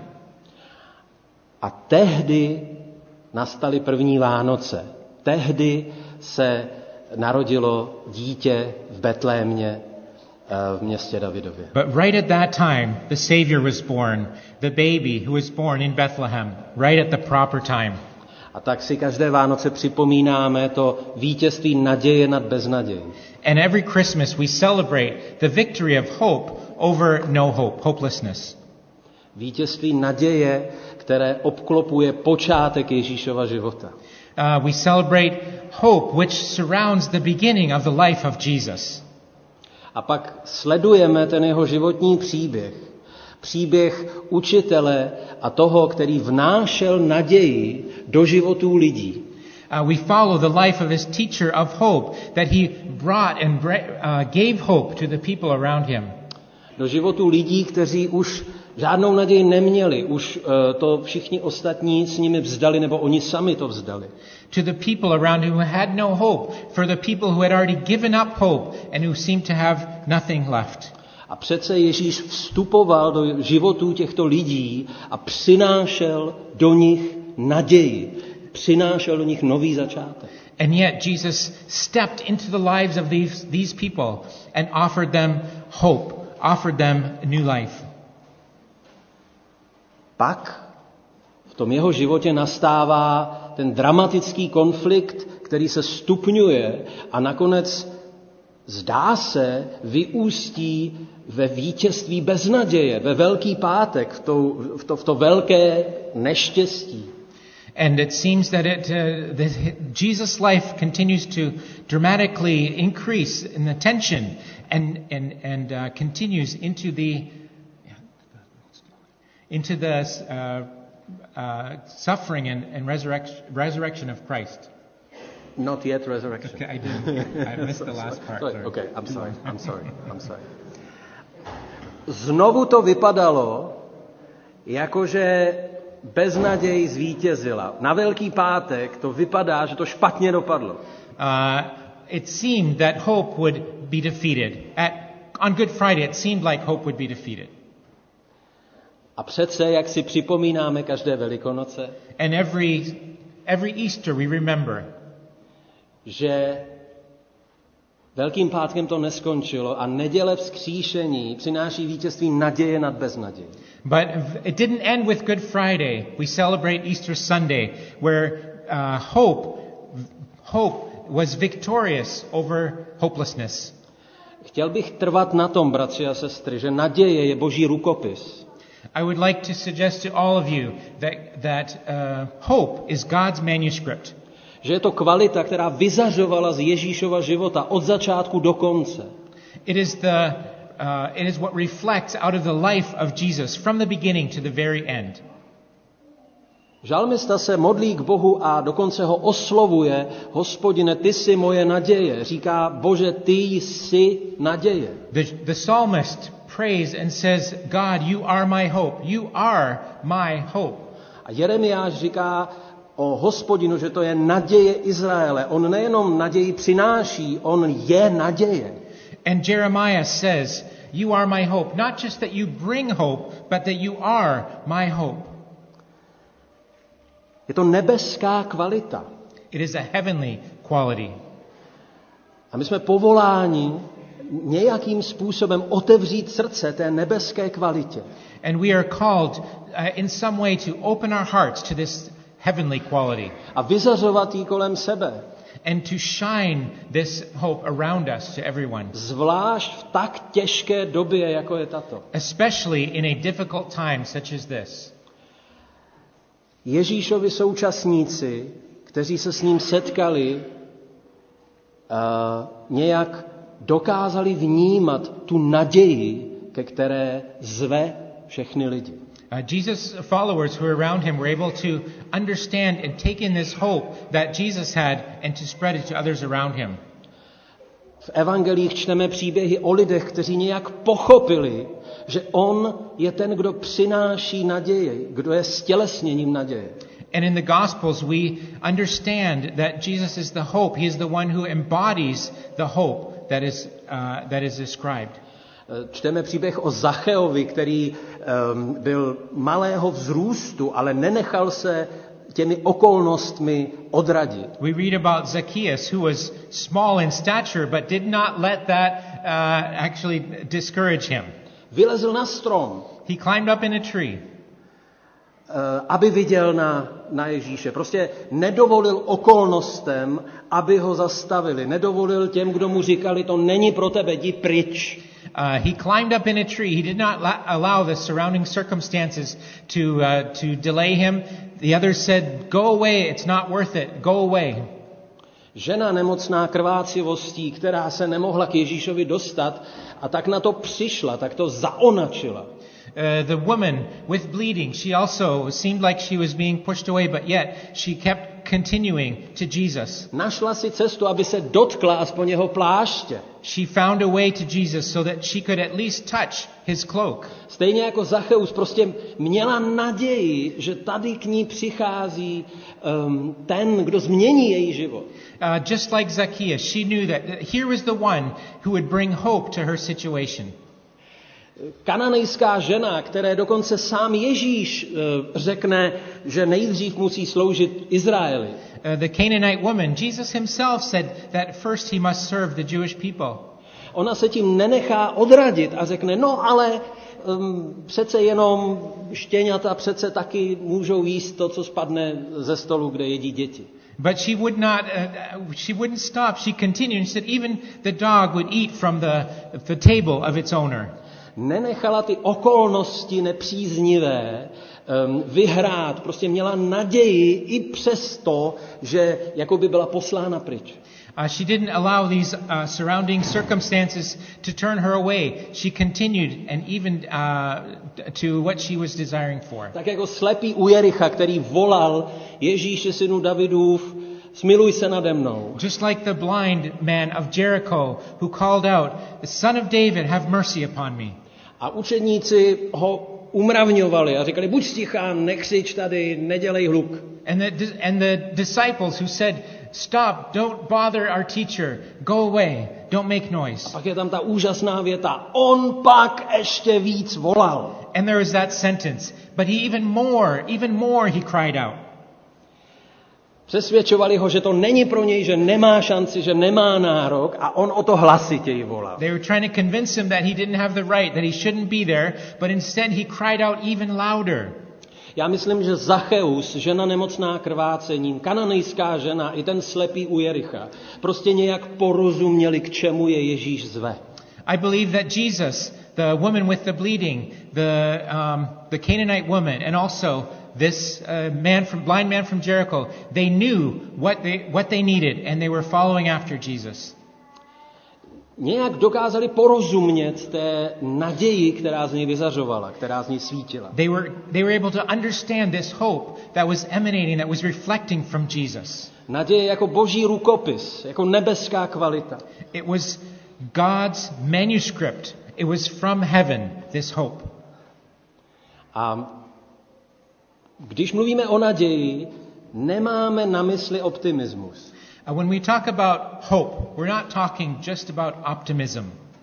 A tehdy nastaly první Vánoce. Tehdy se narodilo dítě v Betlémě v městě Davidově. But right at that time, the Savior was born, the baby who was born in Bethlehem, right at the proper time. A tak si každé Vánoce připomínáme to vítězství naděje nad beznadějí. And every Christmas we celebrate the victory of hope over no hope, hopelessness. Vítězství naděje, které obklopuje počátek Ježíšova života. We celebrate hope which surrounds the beginning of the life of Jesus. A pak sledujeme ten jeho životní příběh. Příběh učitele a toho, který vnášel naději do životů lidí. We follow the life of his teacher of hope, that he brought and gave hope to the people around him. Do životů lidí, kteří už žádnou naději neměli, už to všichni ostatní s nimi vzdali, nebo oni sami to vzdali. To the people around who had no hope, for the people who had already given up hope and who seemed to have nothing left. A přece Ježíš vstupoval do životů těchto lidí a přinášel do nich naději. Přinášel do nich nový začátek. And yet Jesus stepped into the lives of these people and offered them hope, offered them a new life. Pak v tom jeho životě nastává ten dramatický konflikt, který se stupňuje a nakonec zdá se vyústí ve vítězství beznaděje, ve Velký pátek, v to velké neštěstí. And it seems that Jesus' life continues to dramatically increase in the tension and continues into the suffering and resurrection of Christ. Not yet resurrection. Okay, I missed the last part. Sorry. Okay, I'm sorry. Znovu to vypadalo, jakože beznaděj zvítězila. Na Velký pátek to vypadá, že to špatně dopadlo. It seemed that hope would be defeated. On Good Friday, it seemed like hope would be defeated. A přece, jak si připomínáme každé Velikonoce, and every Easter we remember, že Velkým pátkem to neskončilo a neděle vzkříšení přináší vítězství naděje nad beznaději. But it didn't end with Good Friday. We celebrate Easter Sunday, where hope was victorious over hopelessness. Chtěl bych trvat na tom, bratři a sestry, že naděje je Boží rukopis. I would like to suggest to all of you that hope is God's manuscript. Že je to kvalita, která vyzařovala z Ježíšova života od začátku do konce. It is what reflects out of the life of Jesus from the beginning to the very end. Žalmista se modlí k Bohu a dokonce ho oslovuje: Hospodine, ty jsi moje naděje. Říká: Bože, ty jsi naděje. The psalmist prays and says, God, you are my hope. You are my hope. A Jeremiáš říká o Hospodinu, že to je naděje Izraele. On nejenom naději přináší, on je naděje. And Jeremiah says, you are my hope. Not just that you bring hope, but that you are my hope. Je to nebeská kvalita. It is a heavenly quality. A my jsme povoláni nějakým způsobem otevřít srdce té nebeské kvalitě. And we are called in some way to open our hearts to this heavenly quality. A vyzařovat ji kolem sebe. And to shine this hope around us to everyone. Zvlášť v tak těžké době, jako je tato. Especially in a difficult time such as this. Ježíšovi současníci, kteří se s ním setkali, nějak dokázali vnímat tu naději, ke které zve všechny lidi. Jesus' followers who were around him were able to understand and take in this hope that Jesus had and to spread it to others around him. V evangelích čteme příběhy o lidech, kteří nějak pochopili, že on je ten, kdo přináší naději, kdo je stělesněním naděje. And in the Gospels we understand that Jesus is the hope. He is the one who embodies the hope that is described. Čteme příběh o Zacheovi, který byl malého vzrůstu, ale nenechal se těmi okolnostmi odradit. We read about Zacchaeus, who was small in stature, but did not let that actually discourage him. Vylezl na strom. He climbed up in a tree. Aby viděl na Ježíše. Prostě nedovolil okolnostem, aby ho zastavili. Nedovolil těm, kdo mu říkali, to není pro tebe, jdi pryč. He climbed up in a tree. He did not allow the surrounding circumstances to delay him. The others said, go away, it's not worth it, go away. Žena nemocná krvácivostí, která se nemohla k Ježíšovi dostat a tak na to přišla, tak to zaonačila. The woman with bleeding, she also seemed like she was being pushed away, but yet she kept continuing to Jesus. Našla si cestu, aby se dotkla aspoň jeho pláště. She found a way to Jesus so that she could at least touch his cloak. Stejně jako Zacheus prostě měla naději, že tady k ní přichází ten, kdo změní její život. Just like Zacchaeus, she knew that here was the one who would bring hope to her situation. Kananejská žena, které dokonce sám Ježíš řekne, že nejdřív musí sloužit Izraeli. The Canaanite woman, Jesus himself said that first he must serve the Jewish people. Ona se tím nenechá odradit a řekne, no ale přece jenom štěňata přece taky můžou jíst to, co spadne ze stolu, kde jedí děti. But she wouldn't stop. She continued and said even the dog would eat from the table of its owner. Nenechala ty okolnosti nepříznivé vyhrát. Prostě měla naději i přesto, že jakoby byla poslána pryč. She didn't allow these surrounding circumstances to turn her away. She continued and even to what she was desiring for. Tak jako slepý u Jericha, který volal Ježíši, synu Davidův, smiluj se nade mnou. Just like the blind man of Jericho who called out, "Son of David, have mercy upon me." A učedníci ho umravňovali a říkali, buď stichá, nekřič tady, nedělej hluk. And the disciples who said, stop, don't bother our teacher, go away, don't make noise. A pak je tam ta úžasná věta, on pak ještě víc volal. And there is that sentence, but he even more he cried out. Přesvědčovali ho, že to není pro něj, že nemá šanci, že nemá nárok a on o to hlasitěji volal. They were trying to convince him that he didn't have the right, that he shouldn't be there, but instead he cried out even louder. Já myslím, že Zacheus, žena nemocná krvácením, kananejská žena i ten slepý u Jericha, prostě nějak porozuměli, k čemu je Ježíš zve. I believe that Jesus, the woman with the bleeding, the Canaanite woman, and also this blind man from Jericho, they knew what they needed, and they were following after Jesus. Nějak dokázali porozumět té naději, která z něj vyzařovala, která z něj svítila. They were able to understand this hope that was emanating, that was reflecting from Jesus. Naděje jako boží rukopis, jako nebeská kvalita. It was God's manuscript. It was from heaven, this hope. A když mluvíme o naději, nemáme na mysli optimismus. When we talk about hope, we're not talking just about optimism.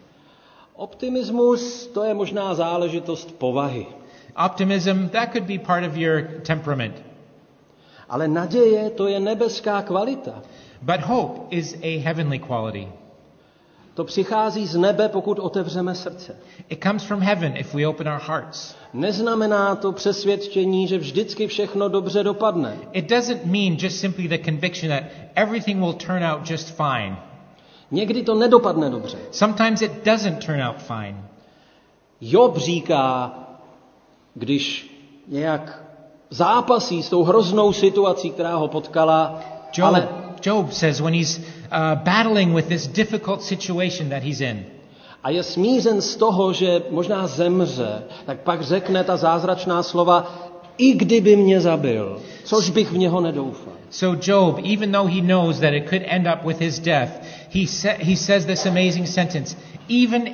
Optimismus, to je možná záležitost povahy. Optimism, that could be part of your temperament. Ale naděje, to je nebeská kvalita. But hope is a heavenly quality. To přichází z nebe, pokud otevřeme srdce. It comes from heaven if we open our hearts. Neznamená to přesvědčení, že vždycky všechno dobře dopadne. It doesn't mean just simply the conviction that everything will turn out just fine. Někdy to nedopadne dobře. Sometimes it doesn't turn out fine. Job říká, když nějak zápasí s tou hroznou situací, která ho potkala, Job says when he's battling with this difficult situation that he's in. A je smířen z toho, že možná zemře, tak pak řekne ta zázračná slova, i kdyby mě zabil, což bych v něho nedoufal. So Job, even though he knows that it could end up with his death, he says this amazing sentence, even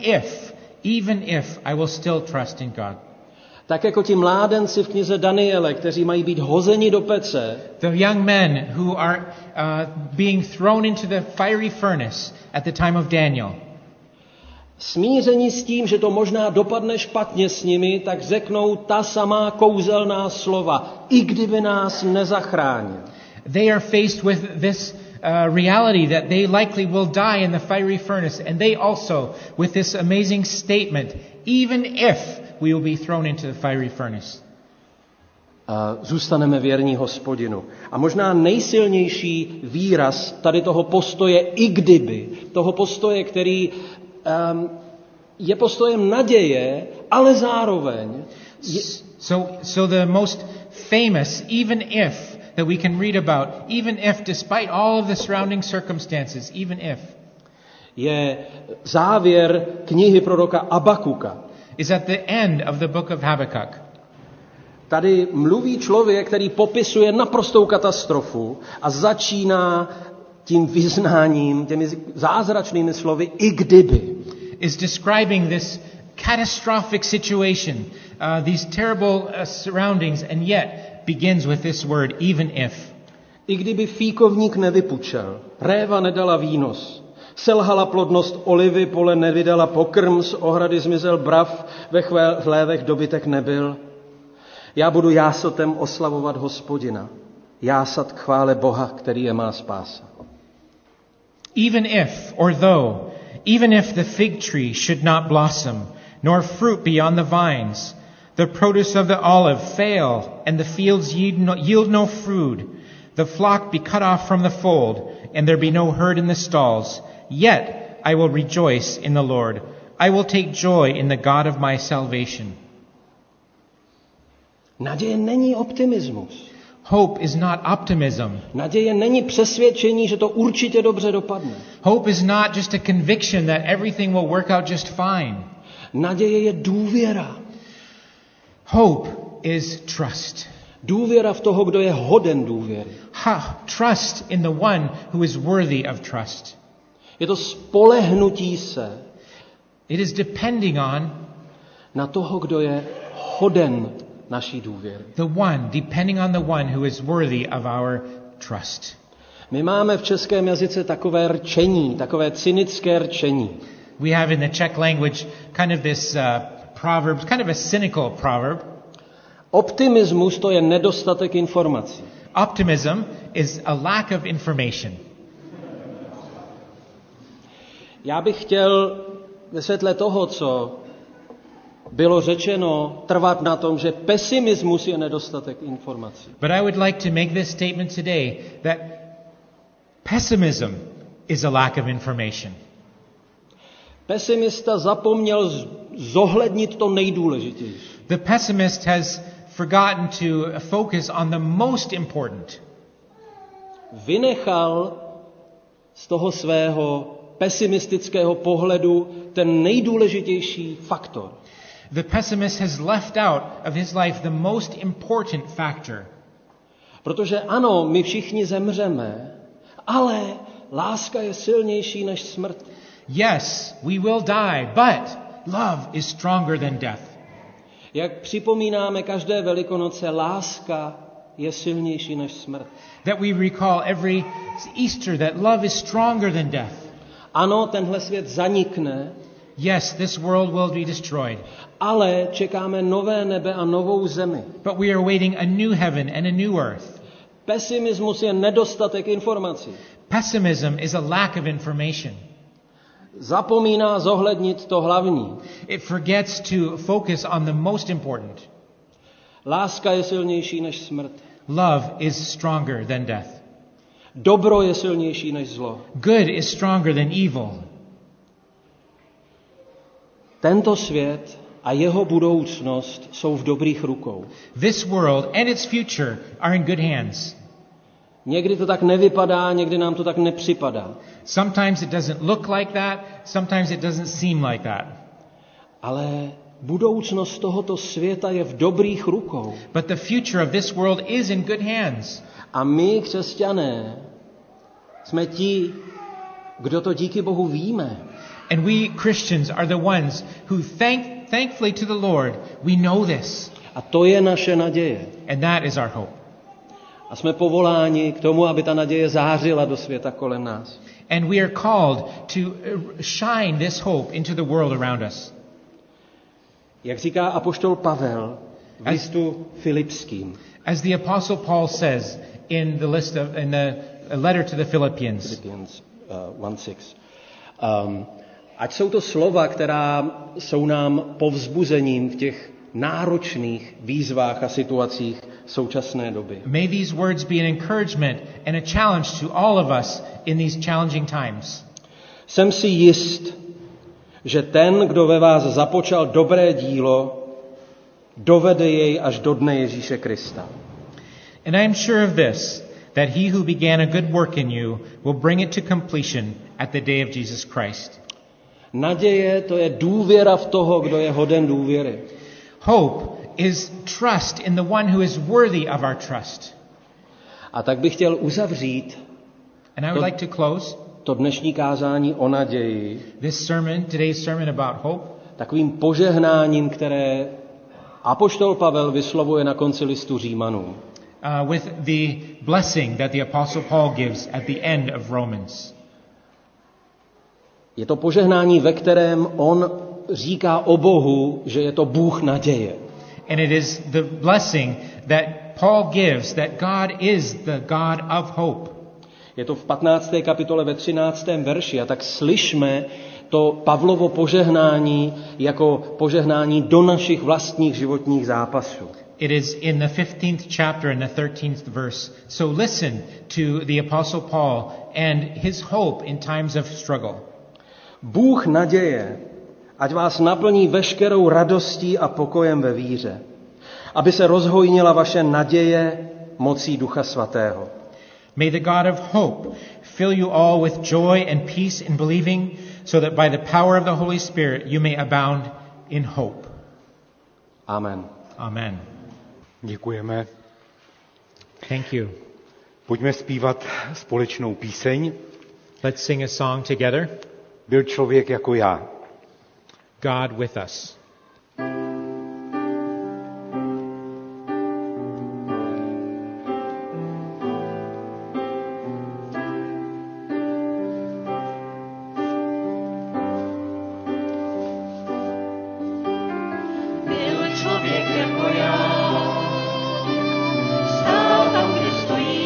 if I will still trust in God. Tak jako ti mládenci v knize Daniele, kteří mají být hozeni do pece. The young men who are being thrown into the fiery furnace at the time of Daniel. Smíření s tím, že to možná dopadne špatně s nimi, tak řeknou ta samá kouzelná slova, i kdyby nás nezachránil. They are faced with this reality that they likely will die in the fiery furnace, and they also with this amazing statement, even if we will be thrown into the fiery furnace. Zůstaneme věrní Hospodinu. A možná nejsilnější výraz tady toho postoje, i kdyby, toho postoje, který je postojem naděje, ale zároveň... So the most famous, even if, that we can read about, even if, despite all of the surrounding circumstances, even if, je závěr knihy proroka Abakuka. Is at the end of the book of Habakkuk. Tady mluví člověk, který popisuje naprostou katastrofu a začíná tím vyznáním, těmi zázračnými slovy, i kdyby. Is describing this catastrophic situation, these terrible surroundings, and yet begins with this word, even if. I kdyby fíkovník nevypučel, réva nedala výnos, selhala plodnost olivy, pole nevydala pokrm, z ohrady zmizel brav, ve chlévech dobytek nebyl. Já budu jásotem oslavovat Hospodina, jásat k chvále Boha, který je má spása. Even if, or though, even if the fig tree should not blossom, nor fruit be on the vines, the produce of the olive fail, and the fields yield no fruit, the flock be cut off from the fold, and there be no herd in the stalls, yet I will rejoice in the Lord. I will take joy in the God of my salvation. Naděje není optimismus. Hope is not optimism. Naděje není přesvědčení, že to určitě dobře dopadne. Hope is not just a conviction that everything will work out just fine. Naděje je důvěra. Hope is trust. Důvěra v toho, kdo je hoden důvěry. Trust in the one who is worthy of trust. Je to spolehnutí se. It is depending on na toho, kdo je hoden naší důvěry. Depending on the one who is worthy of our trust. My máme v českém jazyce takové rčení, takové cynické rčení. We have in the Czech language kind of this proverb, kind of a cynical proverb. Optimismus to je nedostatek informací. Optimism is a lack of information. Já bych chtěl ve světle toho, co bylo řečeno, trvat na tom, že pesimismus je nedostatek informací. But I would like to make this statement today that pessimism is a lack of information. Pesimista zapomněl zohlednit to nejdůležitější. The pessimist has forgotten to focus on the most important. Vynechal z toho svého pesimistického pohledu ten nejdůležitější faktor. The pessimist has left out of his life the most important factor. Protože ano, my všichni zemřeme, ale láska je silnější než smrt. Yes, we will die, but love is stronger than death. Jak připomínáme každé Velikonoce, láska je silnější než smrt. That we recall every Easter that love is stronger than death. Ano, tenhle svět zanikne, Yes, this world will be destroyed, ale čekáme nové nebe a novou zemi. but we are waiting a new heaven and a new earth. Pesimismus je nedostatek informací. Pessimism is a lack of information. Zapomíná zohlednit to hlavní. It forgets to focus on the most important. Láska je silnější než smrt. Love is stronger than death. Dobro je silnější než zlo. Good is stronger than evil. Tento svět a jeho budoucnost jsou v dobrých rukou. This world and its future are in good hands. Někdy to tak nevypadá, někdy nám to tak nepřipadá. Sometimes it doesn't look like that, sometimes it doesn't seem like that. Ale budoucnost tohoto světa je v dobrých rukou. But the future of this world is in good hands. A my, křesťané, jsme ti, kdo to díky Bohu víme. And we Christians are the ones who thankfully to the Lord, we know this. A to je naše naděje. And that is our hope. A jsme povoláni k tomu, aby ta naděje zářila do světa kolem nás. And we are called to shine this hope into the world around us. Jak říká apoštol Pavel v listu Filipským. As the Apostle Paul says in the letter to the Philippians. Philippians 1:6. Ať jsou to slova, která jsou nám povzbuzením v těch náročných výzvách a situacích současné doby. May these words be an encouragement and a challenge to all of us in these challenging times. Jsem si jist, že ten, kdo ve vás započal dobré dílo, dovede jej až do dne Ježíše Krista. And I am sure of this, that he who began a good work in you will bring it to completion at the day of Jesus Christ. Naděje, to je důvěra v toho, kdo je hoden důvěry. Hope is trust in the one who is worthy of our trust. A tak bych chtěl uzavřít And I would like to close to dnešní kázání o naději today's sermon about hope, takovým požehnáním, které apoštol Pavel vyslovuje na konci listu Římanům. With the blessing that the Apostle Paul gives at the end of Romans. Je to požehnání, ve kterém on říká o Bohu, že je to Bůh naděje. And it is the blessing that Paul gives that God is the God of hope. Je to v 15. kapitole ve 13. verši a tak slyšme to Pavlovo požehnání jako požehnání do našich vlastních životních zápasů. It is in the 15th chapter and the 13th verse. So listen to the Apostle Paul and his hope in times of struggle. Bůh naděje, ať vás naplní veškerou radostí a pokojem ve víře, aby se rozhojnila vaše naděje mocí Ducha Svatého. May the God of hope fill you all with joy and peace in believing, so that by the power of the Holy Spirit you may abound in hope. Amen. Amen. Děkujeme. Thank you. Pojďme zpívat společnou píseň. Let's sing a song together. Byl člověk jako já. God with us. Byl člověk jako já, stál tam, kde stojí.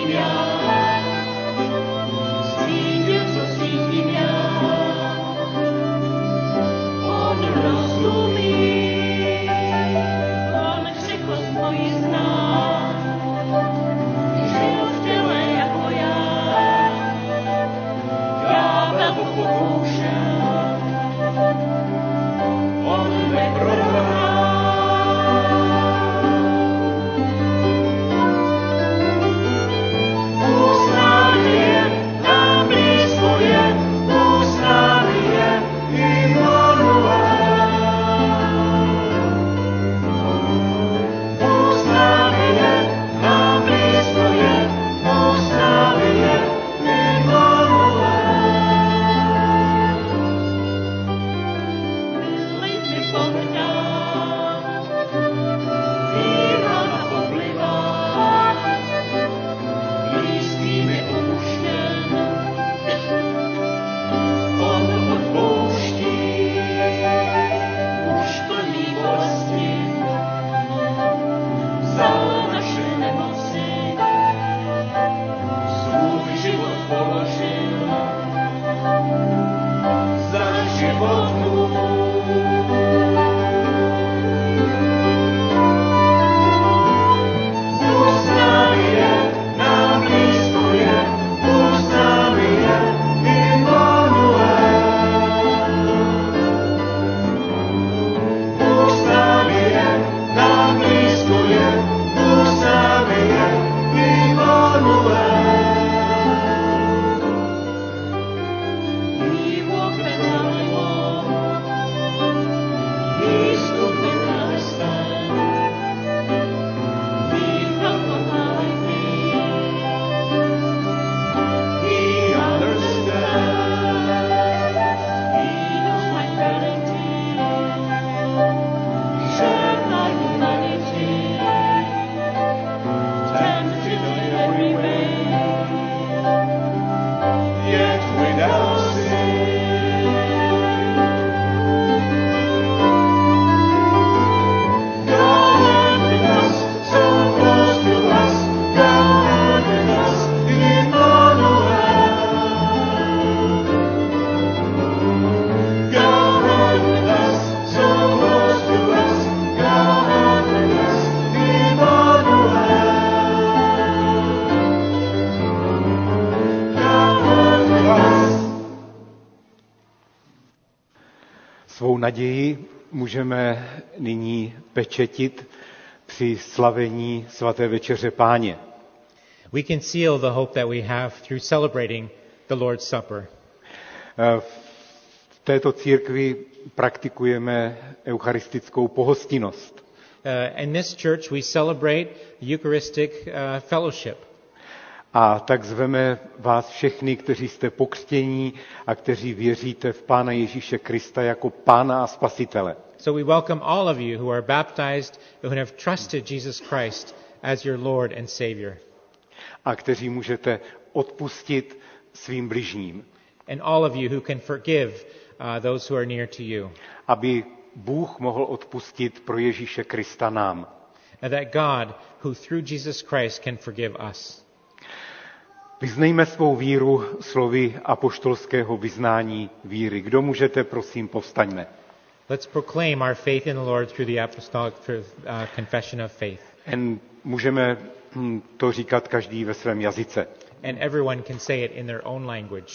naději můžeme nyní pečetit při slavení svaté večeře Páně. We can seal the hope that we have through celebrating the Lord's Supper. V této církvi praktikujeme eucharistickou pohostinnost. In this church we celebrate Eucharistic fellowship. A tak zveme vás všechny, kteří jste pokřtění a kteří věříte v Pána Ježíše Krista jako Pána a Spasitele. So we welcome all of you who are baptized, who have trusted Jesus Christ as your Lord and Savior. A kteří můžete odpustit svým bližním. And all of you who can forgive those who are near to you. Aby Bůh mohl odpustit pro Ježíše Krista nám. And that God, who through Jesus Christ can forgive us. Vyznejme svou víru slovy apoštolského vyznání víry. Kdo můžete, prosím, povstaňme. Let's proclaim our faith in the Lord through the apostolic confession of faith. Můžeme to říkat každý ve svém jazyce. And everyone can say it in their own language.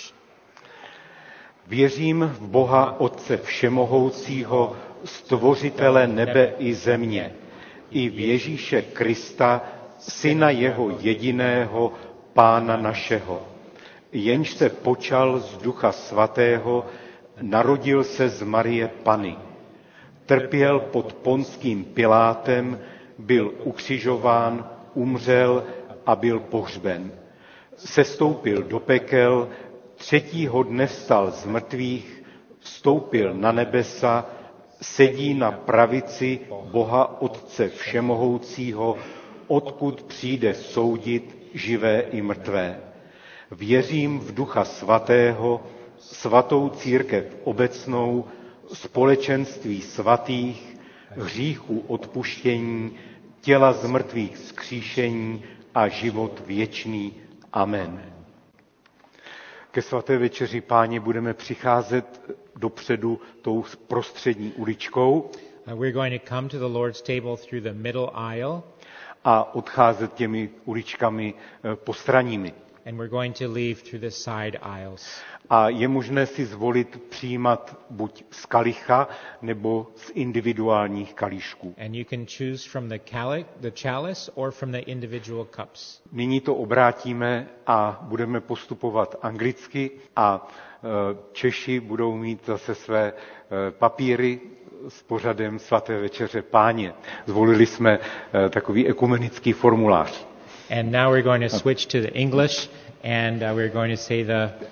Věřím v Boha Otce Všemohoucího, stvořitele nebe i země, i v Ježíše Krista, Syna jeho jediného, Pána našeho, jenž se počal z Ducha Svatého, narodil se z Marie Panny, trpěl pod Ponským Pilátem, byl ukřižován, umřel a byl pohřben. Sestoupil do pekel, 3. dne vstal z mrtvých, vstoupil na nebesa, sedí na pravici Boha Otce Všemohoucího, odkud přijde soudit živé i mrtvé. Věřím v Ducha Svatého, svatou církev obecnou, společenství svatých, hříchů odpuštění, těla z mrtvých vzkříšení a život věčný. Amen. Ke svaté večeři Páně budeme přicházet dopředu tou prostřední uličkou. We're going to come to the Lord's table through the middle aisle. A odcházet těmi uličkami postranními. And we're going to leave through the side aisles. A je možné si zvolit přijímat buď z kalicha nebo z individuálních kalíšků. And you can choose from the chalice or from the individual cups. Nyní to obrátíme a budeme postupovat anglicky a Češi budou mít zase své papíry s pořadem svaté večeře Páně. Zvolili jsme takový ekumenický formulář. And now we're going to switch to the English, and we're going to say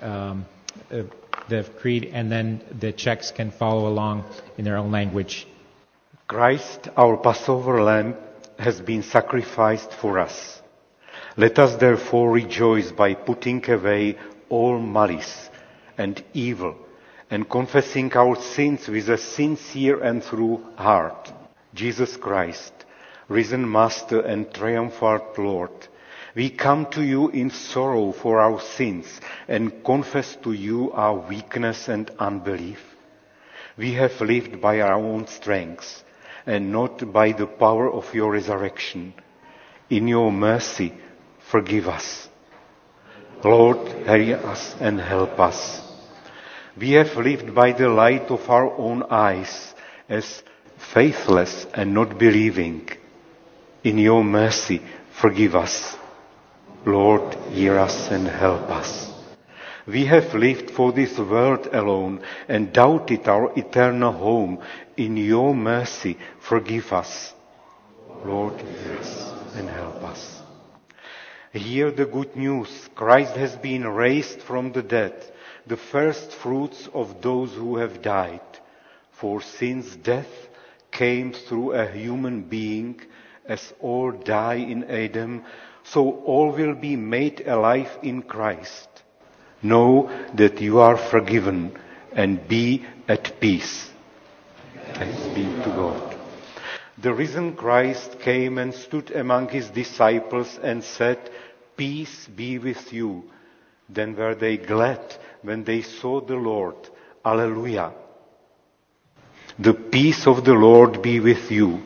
the creed, and then the Czechs can follow along in their own language. Christ, our Passover lamb, has been sacrificed for us. Let us therefore rejoice by putting away all malice and evil, and confessing our sins with a sincere and true heart. Jesus Christ, risen Master and triumphant Lord, we come to you in sorrow for our sins and confess to you our weakness and unbelief. We have lived by our own strength and not by the power of your resurrection. In your mercy, forgive us. Lord, hear us and help us. We have lived by the light of our own eyes as faithless and not believing. In your mercy, forgive us. Lord, hear us and help us. We have lived for this world alone and doubted our eternal home. In your mercy, forgive us. Lord, hear us and help us. Hear the good news. Christ has been raised from the dead, the first fruits of those who have died. For since death came through a human being, as all die in Adam, so all will be made alive in Christ. Know that you are forgiven and be at peace. Thanks be to God. The risen Christ came and stood among his disciples and said, "Peace be with you." Then were they glad when they saw the Lord. Alleluia. The peace of the Lord be with you.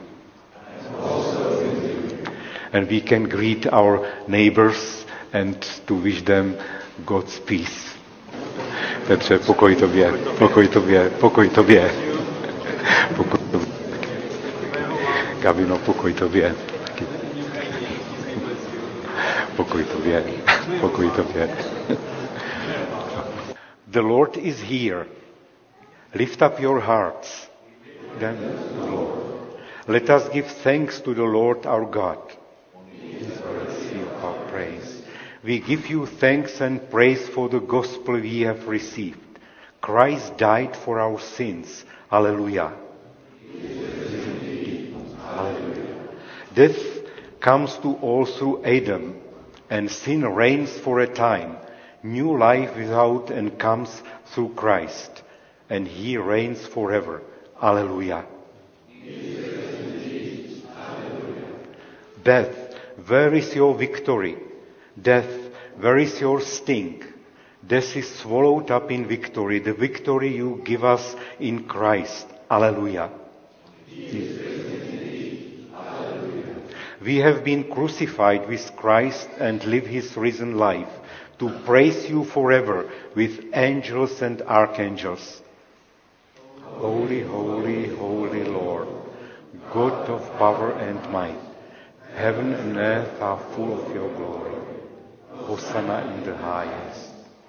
And we can greet our neighbors and to wish them God's peace. Petře, pokoj tobě, pokoj tobě, pokoj tobě. Gabino, pokoj tobě. Pokoj tobě. Pokoj tobě. The Lord is here. Lift up your hearts. Then, Lord. Let us give thanks to the Lord our God. Receive our praise. We give you thanks and praise for the gospel we have received. Christ died for our sins. Hallelujah. Hallelujah. Death comes to all through Adam, and sin reigns for a time. New life without and comes through Christ, and he reigns forever. Hallelujah. Death, where is your victory? Death, where is your sting? Death is swallowed up in victory, the victory you give us in Christ. Hallelujah. We have been crucified with Christ and live his risen life to praise you forever with angels and archangels. Holy, holy, holy Lord, God of power and might, heaven and earth are full of your glory. Hosanna in the highest.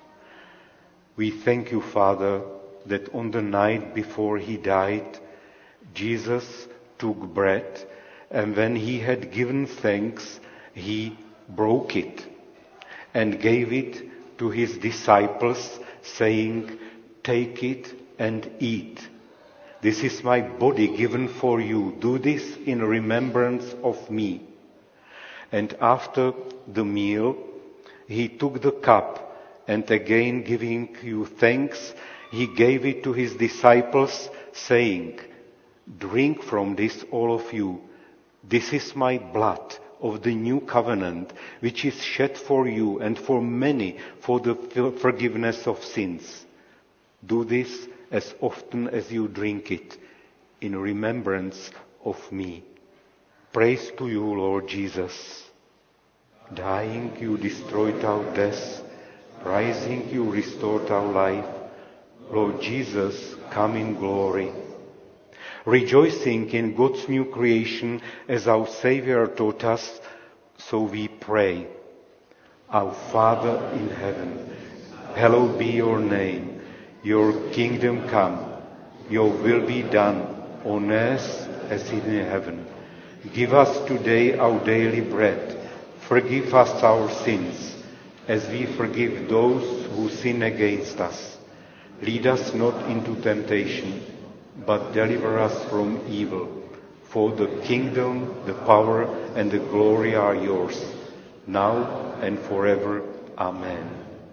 We thank you, Father, that on the night before he died, Jesus took bread, and when he had given thanks, he broke it and gave it to his disciples, saying, "Take it and eat. This is my body given for you. Do this in remembrance of me." And after the meal, he took the cup, and again giving you thanks, he gave it to his disciples, saying, "Drink from this, all of you. This is my blood of the new covenant, which is shed for you and for many for the forgiveness of sins. Do this as often as you drink it, in remembrance of me." Praise to you, Lord Jesus. Dying, you destroyed our death. Rising, you restored our life. Lord Jesus, come in glory. Rejoicing in God's new creation as our Savior taught us, so we pray. Our Father in heaven, hallowed be your name. Your kingdom come. Your will be done on earth as in heaven. Give us today our daily bread. Forgive us our sins, as we forgive those who sin against us. Lead us not into temptation, but deliver us from evil. For the kingdom, the power, and the glory are yours, now and forever. Amen.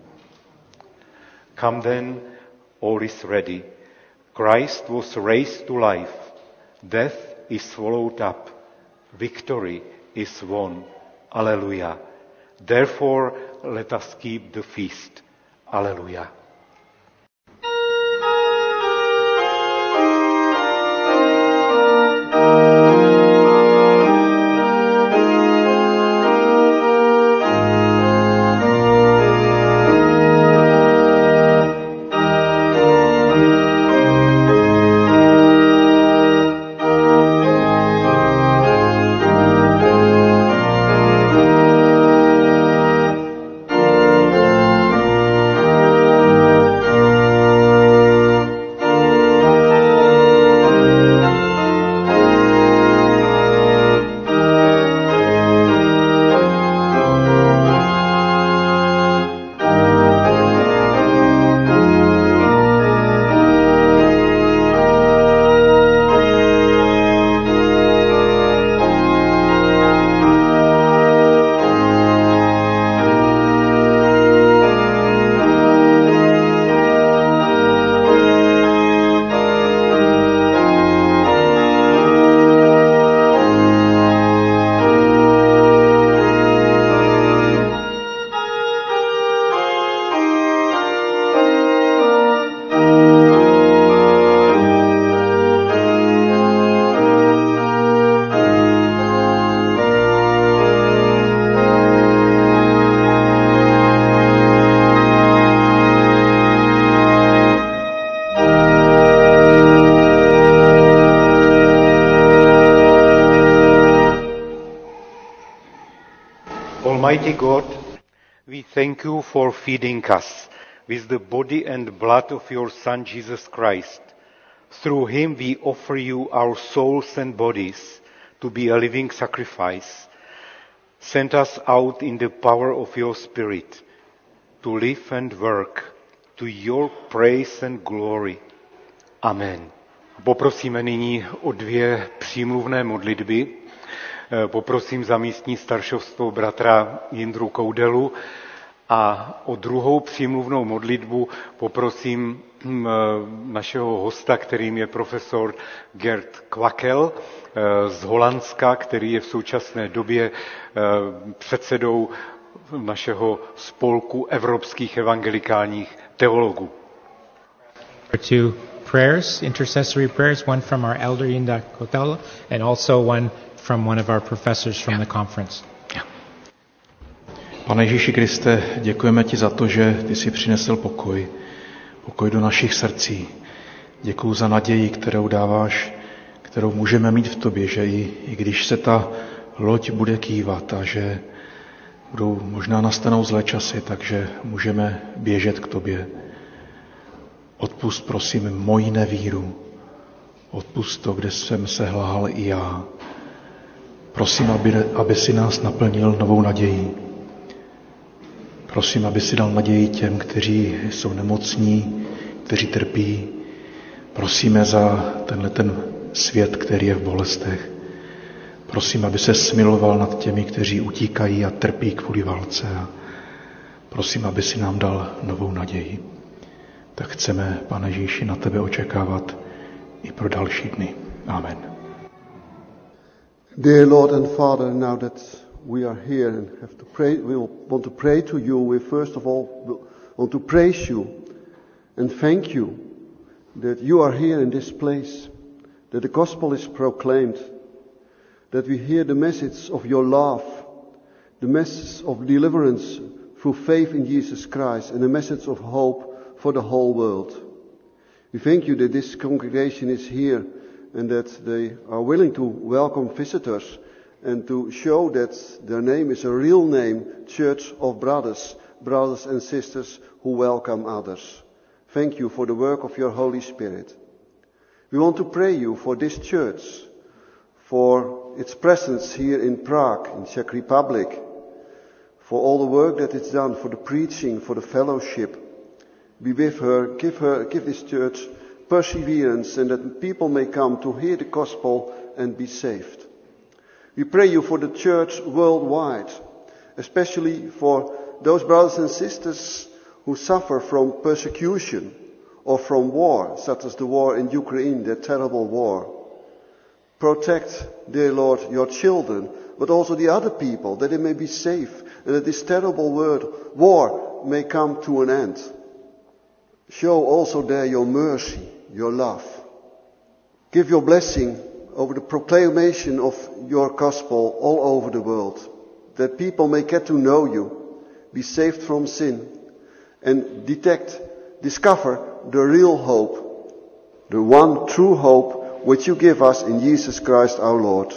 Come then, all is ready. Christ was raised to life. Death is swallowed up. Victory is won. Alleluia. Therefore, let us keep the feast. Alleluia. Almighty God, we thank you for feeding us with the body and blood of your Son Jesus Christ. Through him we offer you our souls and bodies to be a living sacrifice. Send us out in the power of your Spirit to live and work to your praise and glory. Amen. Poprosíme nyní o 2 přímluvné modlitby. Poprosím za místní staršovstvo bratra Jindru Koudelu a o druhou přímluvnou modlitbu poprosím našeho hosta, kterým je profesor Gert Kwakkel z Holandska, který je v současné době předsedou našeho spolku evropských evangelikálních teologů. Two prayers, intercessory prayers, one from our elder Yinda Kotel and also one from one of our professors from the conference. Pane Ježíši Kriste, děkujeme ti za to, že ty jsi přinesl pokoj do našich srdcí. Děkuju za naději, kterou dáváš, kterou můžeme mít v tobě, že i když se ta loď bude kývat a že možná nastanou zlé časy, takže můžeme běžet k tobě. Odpusť, prosím, moji nevíru. Odpusť to, kde jsem se lhal i já. Prosím, aby si nás naplnil novou nadějí. Prosím, aby si dal naději těm, kteří jsou nemocní, kteří trpí. Prosíme za ten svět, který je v bolestech. Prosím, aby se smiloval nad těmi, kteří utíkají a trpí kvůli válce. Prosím, aby si nám dal novou naději. Tak chceme, Pane Ježíši, na tebe očekávat i pro další dny. Amen. Dear Lord and Father, now that we are here and have to pray, we want to pray to you. We first of all want to praise you and thank you that you are here in this place, that the gospel is proclaimed, that we hear the message of your love, the message of deliverance through faith in Jesus Christ, and the message of hope for the whole world. We thank you that this congregation is here and that they are willing to welcome visitors and to show that their name is a real name, Church of brothers and sisters who welcome others. Thank you for the work of your Holy Spirit. We want to pray you for this church, for its presence here in Prague, in Czech Republic, for all the work that it's done, for the preaching, for the fellowship. Be with her, give this church perseverance, and that people may come to hear the gospel and be saved. We pray you for the church worldwide, especially for those brothers and sisters who suffer from persecution or from war, such as the war in Ukraine, that terrible war. Protect, dear Lord, your children, but also the other people, that they may be safe, and that this terrible war may come to an end. Show also there your mercy, your love. Give your blessing over the proclamation of your gospel all over the world, that people may get to know you, be saved from sin, and discover the real hope, the one true hope which you give us in Jesus Christ our Lord.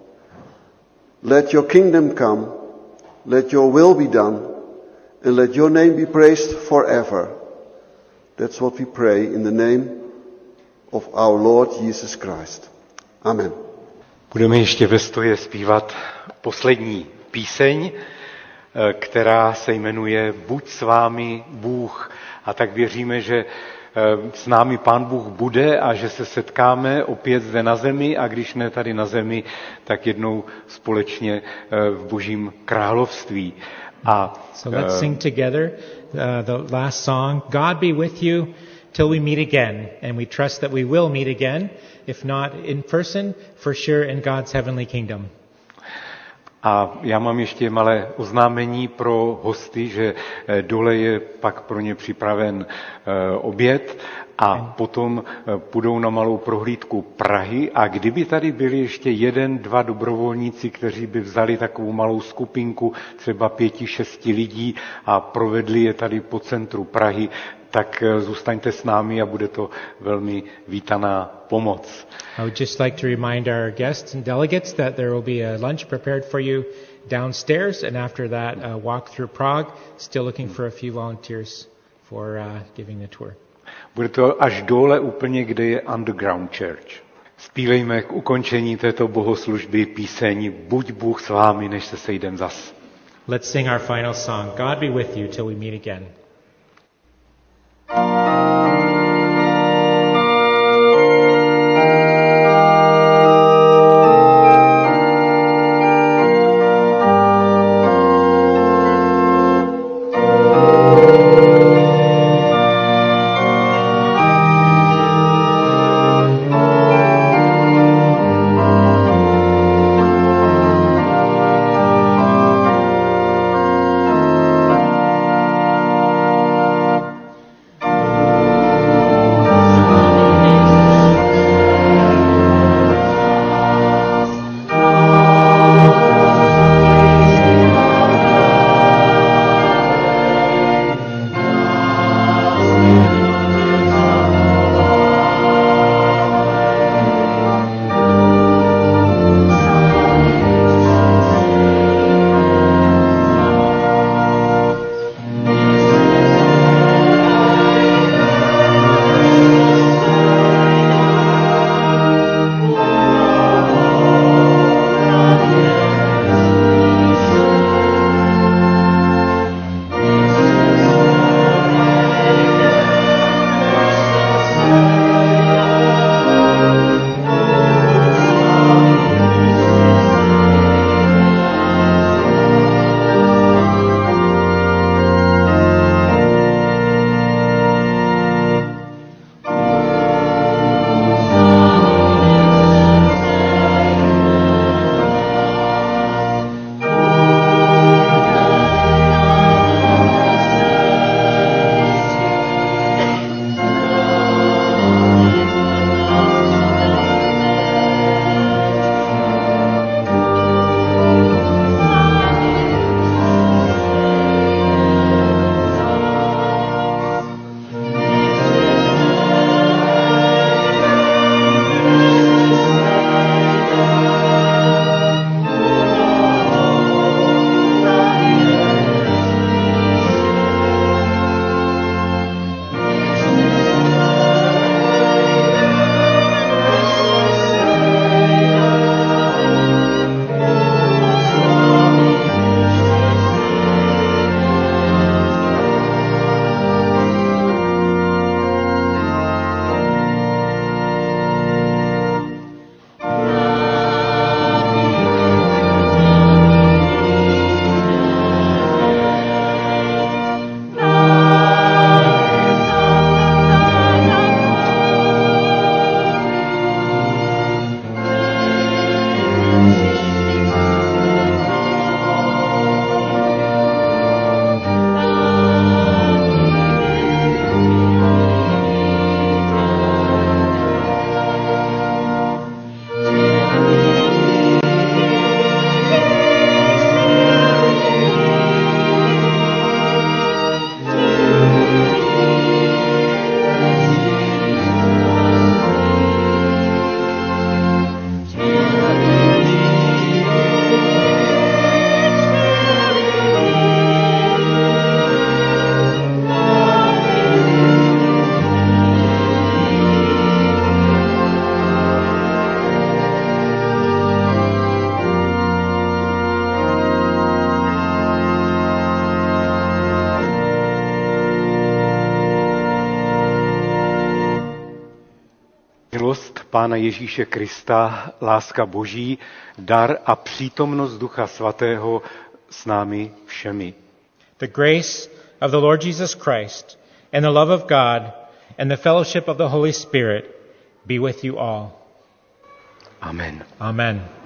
Let your kingdom come, let your will be done, and let your name be praised forever. That's what we pray in the name of our Lord Jesus Christ. Amen. Budeme ještě ve stoje zpívat poslední píseň, která se jmenuje Buď s vámi Bůh. A tak věříme, že s námi Pán Bůh bude a že se setkáme opět zde na zemi a když ne tady na zemi, tak jednou společně v Božím království. So let's sing together the last song, God be with you till we meet again. And we trust that we will meet again, if not in person, for sure in God's heavenly kingdom. A já mám ještě malé oznámení pro hosty, že dole je pak pro ně připraven oběd a potom půjdou na malou prohlídku Prahy a kdyby tady byli ještě 1-2 dobrovolníci, kteří by vzali takovou malou skupinku, třeba 5-6 lidí a provedli je tady po centru Prahy, tak zůstaňte s námi a bude to velmi vítaná pomoc. I would just like to remind our guests and delegates that there will be a lunch prepared for you downstairs, and after that walk through Prague. Still looking for a few volunteers for giving the tour. Bude to až dole úplně, kde je Underground Church. Zpívejme k ukončení této bohoslužby píseň Buď Bůh s vámi, než se sejdem zas. Let's sing our final song, God be with you till we meet again. Milost Pána Ježíše Krista, láska Boží, dar a přítomnost Ducha Svatého s námi všemi. The grace of the Lord Jesus Christ and the love of God and the fellowship of the Holy Spirit be with you all. Amen. Amen.